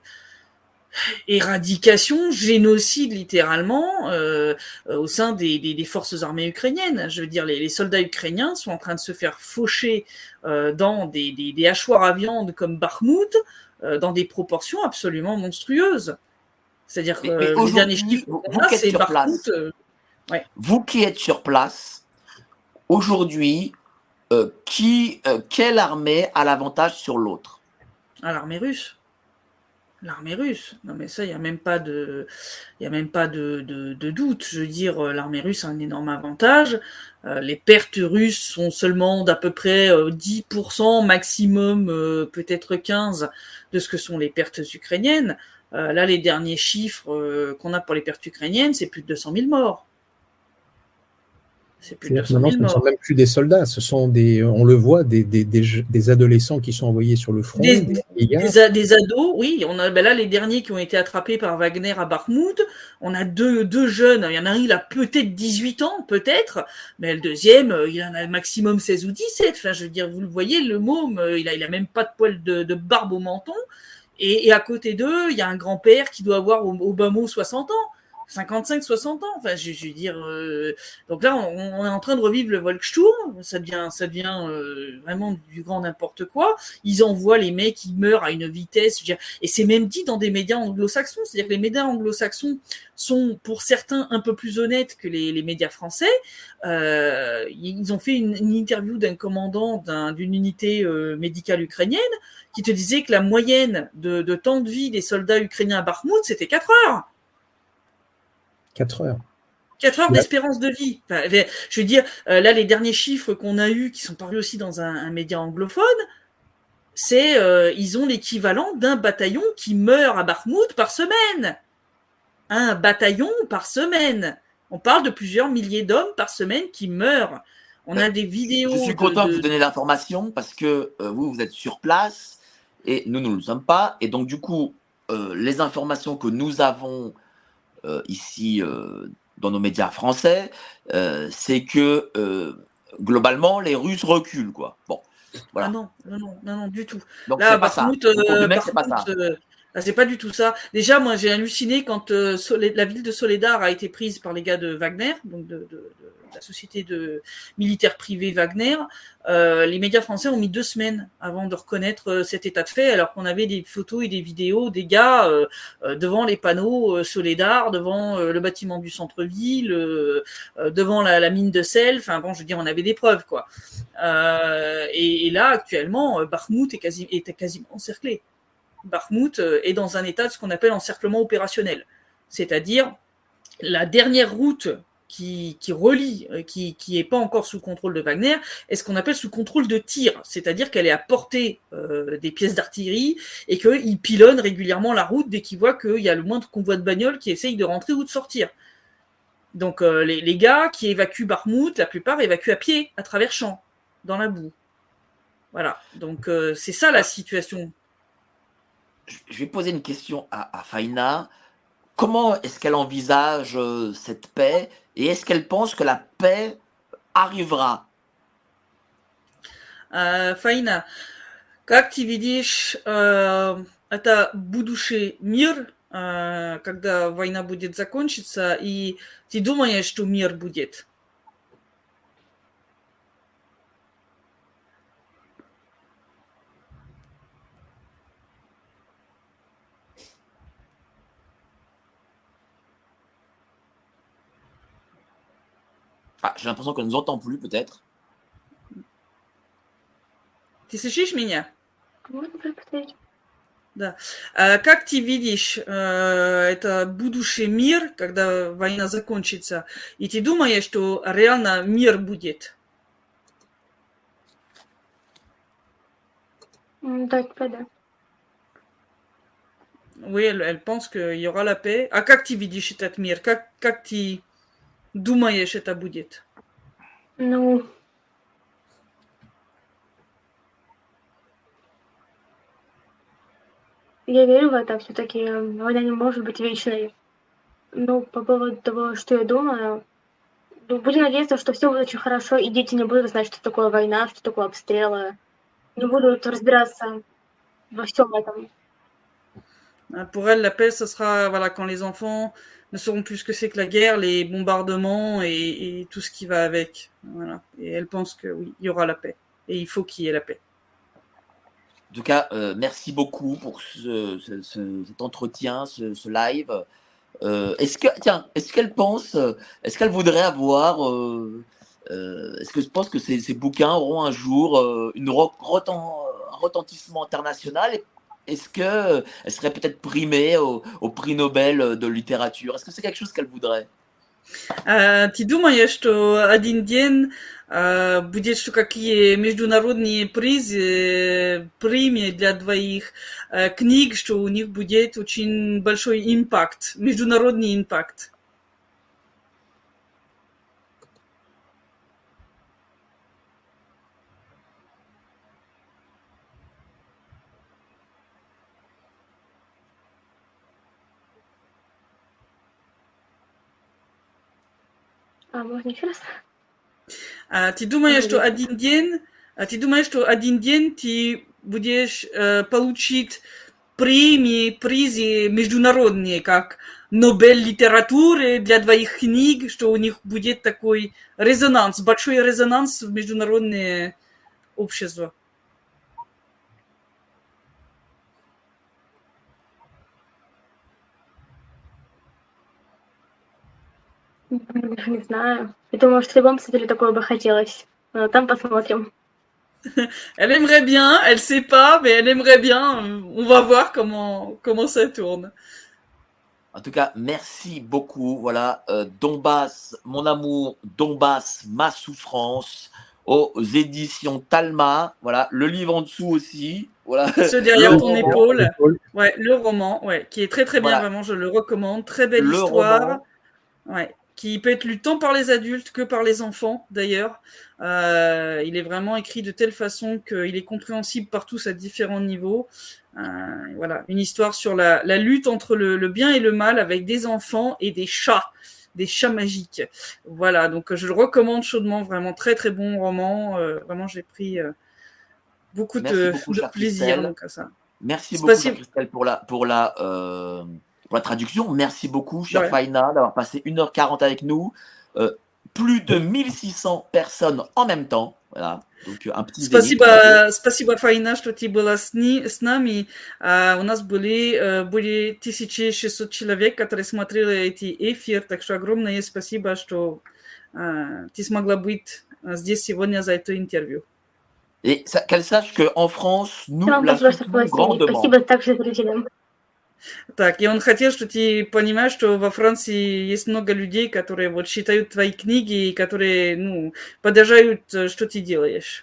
éradication, génocide littéralement, au sein des forces armées ukrainiennes. Je veux dire, les soldats ukrainiens sont en train de se faire faucher dans des hachoirs à viande comme Bakhmout, dans des proportions absolument monstrueuses. C'est-à-dire que les derniers chiffres, c'est Bakhmout. Ouais. Vous qui êtes sur place, aujourd'hui, quelle armée a l'avantage sur l'autre? L'armée russe. L'armée russe. Non, mais ça, il n'y a même pas de doute. Je veux dire, l'armée russe a un énorme avantage. Les pertes russes sont seulement d'à peu près 10% maximum, peut-être 15% de ce que sont les pertes ukrainiennes. Là, les derniers chiffres qu'on a pour les pertes ukrainiennes, c'est plus de 200 000 morts. C'est plus de 200 000 morts. Ce ne sont même plus des soldats, ce sont on le voit, des adolescents qui sont envoyés sur le front. Des ados, oui. On a là les derniers qui ont été attrapés par Wagner à Bakhmout. On a deux jeunes. Il y en a un, il a peut-être 18 ans, peut-être, mais le deuxième, il en a maximum 16 ou 17. Enfin, je veux dire, vous le voyez, le môme, il a même pas de poil de barbe au menton. Et à côté d'eux, il y a un grand-père qui doit avoir au bas mot 60 ans. 55, 60 ans. Enfin, je veux dire. Donc là, on est en train de revivre le Volkssturm. Ça devient vraiment du grand n'importe quoi. Ils envoient les mecs qui meurent à une vitesse. Je veux dire, et c'est même dit dans des médias anglo-saxons. C'est-à-dire que les médias anglo-saxons sont, pour certains, un peu plus honnêtes que les médias français. Ils ont fait une interview d'un commandant d'une unité médicale ukrainienne qui te disait que la moyenne de temps de vie des soldats ukrainiens à Bakhmout, c'était 4 heures. 4 heures. 4 heures d'espérance de vie. Enfin, je veux dire, là, les derniers chiffres qu'on a eus, qui sont parus aussi dans un média anglophone, c'est ils ont l'équivalent d'un bataillon qui meurt à Bakhmout par semaine. Un bataillon par semaine. On parle de plusieurs milliers d'hommes par semaine qui meurent. On a des vidéos. Je suis content de vous donner l'information parce que vous êtes sur place et nous ne le sommes pas. Et donc, du coup, les informations que nous avons ici dans nos médias français, c'est que globalement les Russes reculent, quoi. Bon, voilà. Ah non, du tout. Donc là, c'est pas ça. C'est pas ça. C'est pas du tout ça. Déjà, moi, j'ai halluciné quand la ville de Soledar a été prise par les gars de Wagner, donc de la société de militaire privée Wagner. Les médias français ont mis 2 semaines avant de reconnaître cet état de fait, alors qu'on avait des photos et des vidéos des gars devant les panneaux Soledar, devant le bâtiment du centre-ville, devant la mine de sel. Enfin bon, je veux dire, on avait des preuves, quoi. Et là, actuellement, Bakhmout était quasiment encerclé. Bakhmout est dans un état de ce qu'on appelle encerclement opérationnel, c'est-à-dire la dernière route qui relie, qui est pas encore sous contrôle de Wagner, est ce qu'on appelle sous contrôle de tir, c'est-à-dire qu'elle est à portée des pièces d'artillerie et qu'ils pilonnent régulièrement la route dès qu'ils voient qu'il y a le moindre convoi de bagnole qui essaye de rentrer ou de sortir. Donc les gars qui évacuent Bakhmout, la plupart évacuent à pied, à travers champs, dans la boue. Voilà, donc c'est ça la situation. Je vais poser une question à Faina. Comment est-ce qu'elle envisage cette paix et est-ce qu'elle pense que la paix arrivera? Faina, как ты видишь это будущий мир, когда война будет закончиться, и ты думаешь, что мир будет? Ah, j'ai l'impression qu'elle ne nous entend plus, peut-être. Ты слышишь меня? Можно повторить? Да. Как ты видишь это будущий мир, когда война закончится? И ты думаешь, что реально мир будет? Да, теперь да. Oui, elle pense qu'il y aura la paix. А как ты видишь этот мир? Как ты думаешь, это будет? Ну, я верю в это. Все-таки война не может быть вечной. Но по поводу того, что я думаю, ну, будем надеяться, что все будет очень хорошо, и дети не будут знать, что такое война, что такое обстрелы. Не будут разбираться во всем этом. Pour elle, la paix, ce sera voilà, quand les enfants ne sauront plus ce que c'est que la guerre, les bombardements et tout ce qui va avec. Voilà. Et elle pense que oui, il y aura la paix. Et il faut qu'il y ait la paix. En tout cas, merci beaucoup pour cet entretien, ce live. Est-ce qu'elle pense, est-ce qu'elle voudrait avoir, est-ce que je pense que ces bouquins auront un jour un retentissement international? Est-ce qu'elle serait peut-être primée au prix Nobel de littérature? Est-ce que c'est quelque chose qu'elle voudrait? Ты думаешь, что один день будет, что какие международные призы, премии для двоих книг, что у них будет очень большой импакт, международный импакт? А можно еще раз? Ты думаешь, что один день ты будешь получить премии, призы международные, как Нобель литературы для двоих книг, что у них будет такой резонанс, большой резонанс в международное общество. Даже не знаю. Я думаю, что любому писателю такое бы хотелось. Но там посмотрим. Elle aimerait bien, elle sait pas, mais elle aimerait bien. On va voir comment ça tourne. En tout cas, merci beaucoup. Voilà, Donbass, mon amour, Donbass, ma souffrance, aux éditions Talma. Voilà, le livre en dessous aussi. Voilà. Ce derrière ton épaule. Ouais, le roman, ouais, qui est très très bien, Voilà. vraiment, je le recommande. Très belle Le histoire. roman. Ouais, qui peut être lu tant par les adultes que par les enfants, d'ailleurs. Il est vraiment écrit de telle façon qu'il est compréhensible par tous à différents niveaux. Voilà, une histoire sur la lutte entre le bien et le mal avec des enfants et des chats magiques. Voilà, donc je le recommande chaudement, vraiment très très bon roman. Vraiment, j'ai pris beaucoup de plaisir donc, à ça. Merci beaucoup, chère Christelle, pour la traduction. Merci beaucoup, chère Faina, d'avoir passé 1h40 avec nous. Plus de 1600 personnes en même temps. Voilà. Donc, un petit Спасибо, Фаина, что ты была с нами. У нас были более 1600 человек, которые смотрели эти эфир. Так что огромное спасибо, что ты смогла быть здесь сегодня за это интервью. Et qu'elle sache qu'en France, nous la soutenons grandement. Спасибо также зрителям. Так, и он хотел, что ты понимаешь, что во Франции есть много людей, которые вот читают твои книги и которые, ну, поддерживают, что ты делаешь.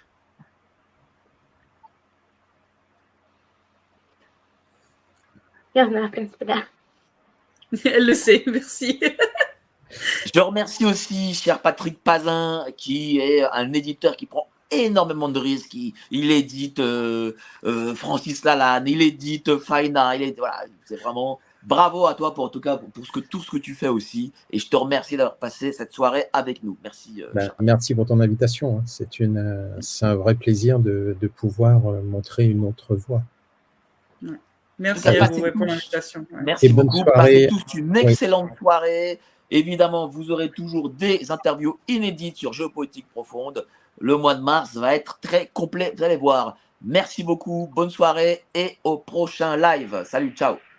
Я знаю, в принципе, да. Elle le sait, merci. Je remercie aussi, cher Patrick Pazin, qui est un éditeur qui prend énormément de risques. Il édite Francis Lalanne, il édite Faina, voilà, c'est vraiment bravo à toi pour, en tout cas, pour tout ce que tu fais aussi. Et je te remercie d'avoir passé cette soirée avec nous. Merci. Merci pour ton invitation. C'est un vrai plaisir de pouvoir montrer une autre voie. Ouais. Merci à vous pour l'invitation. Ouais. Merci beaucoup. Passez tous une excellente soirée. Évidemment, vous aurez toujours des interviews inédites sur Géopolitique Profonde. Le mois de mars va être très complet, vous allez voir. Merci beaucoup, bonne soirée et au prochain live. Salut, ciao.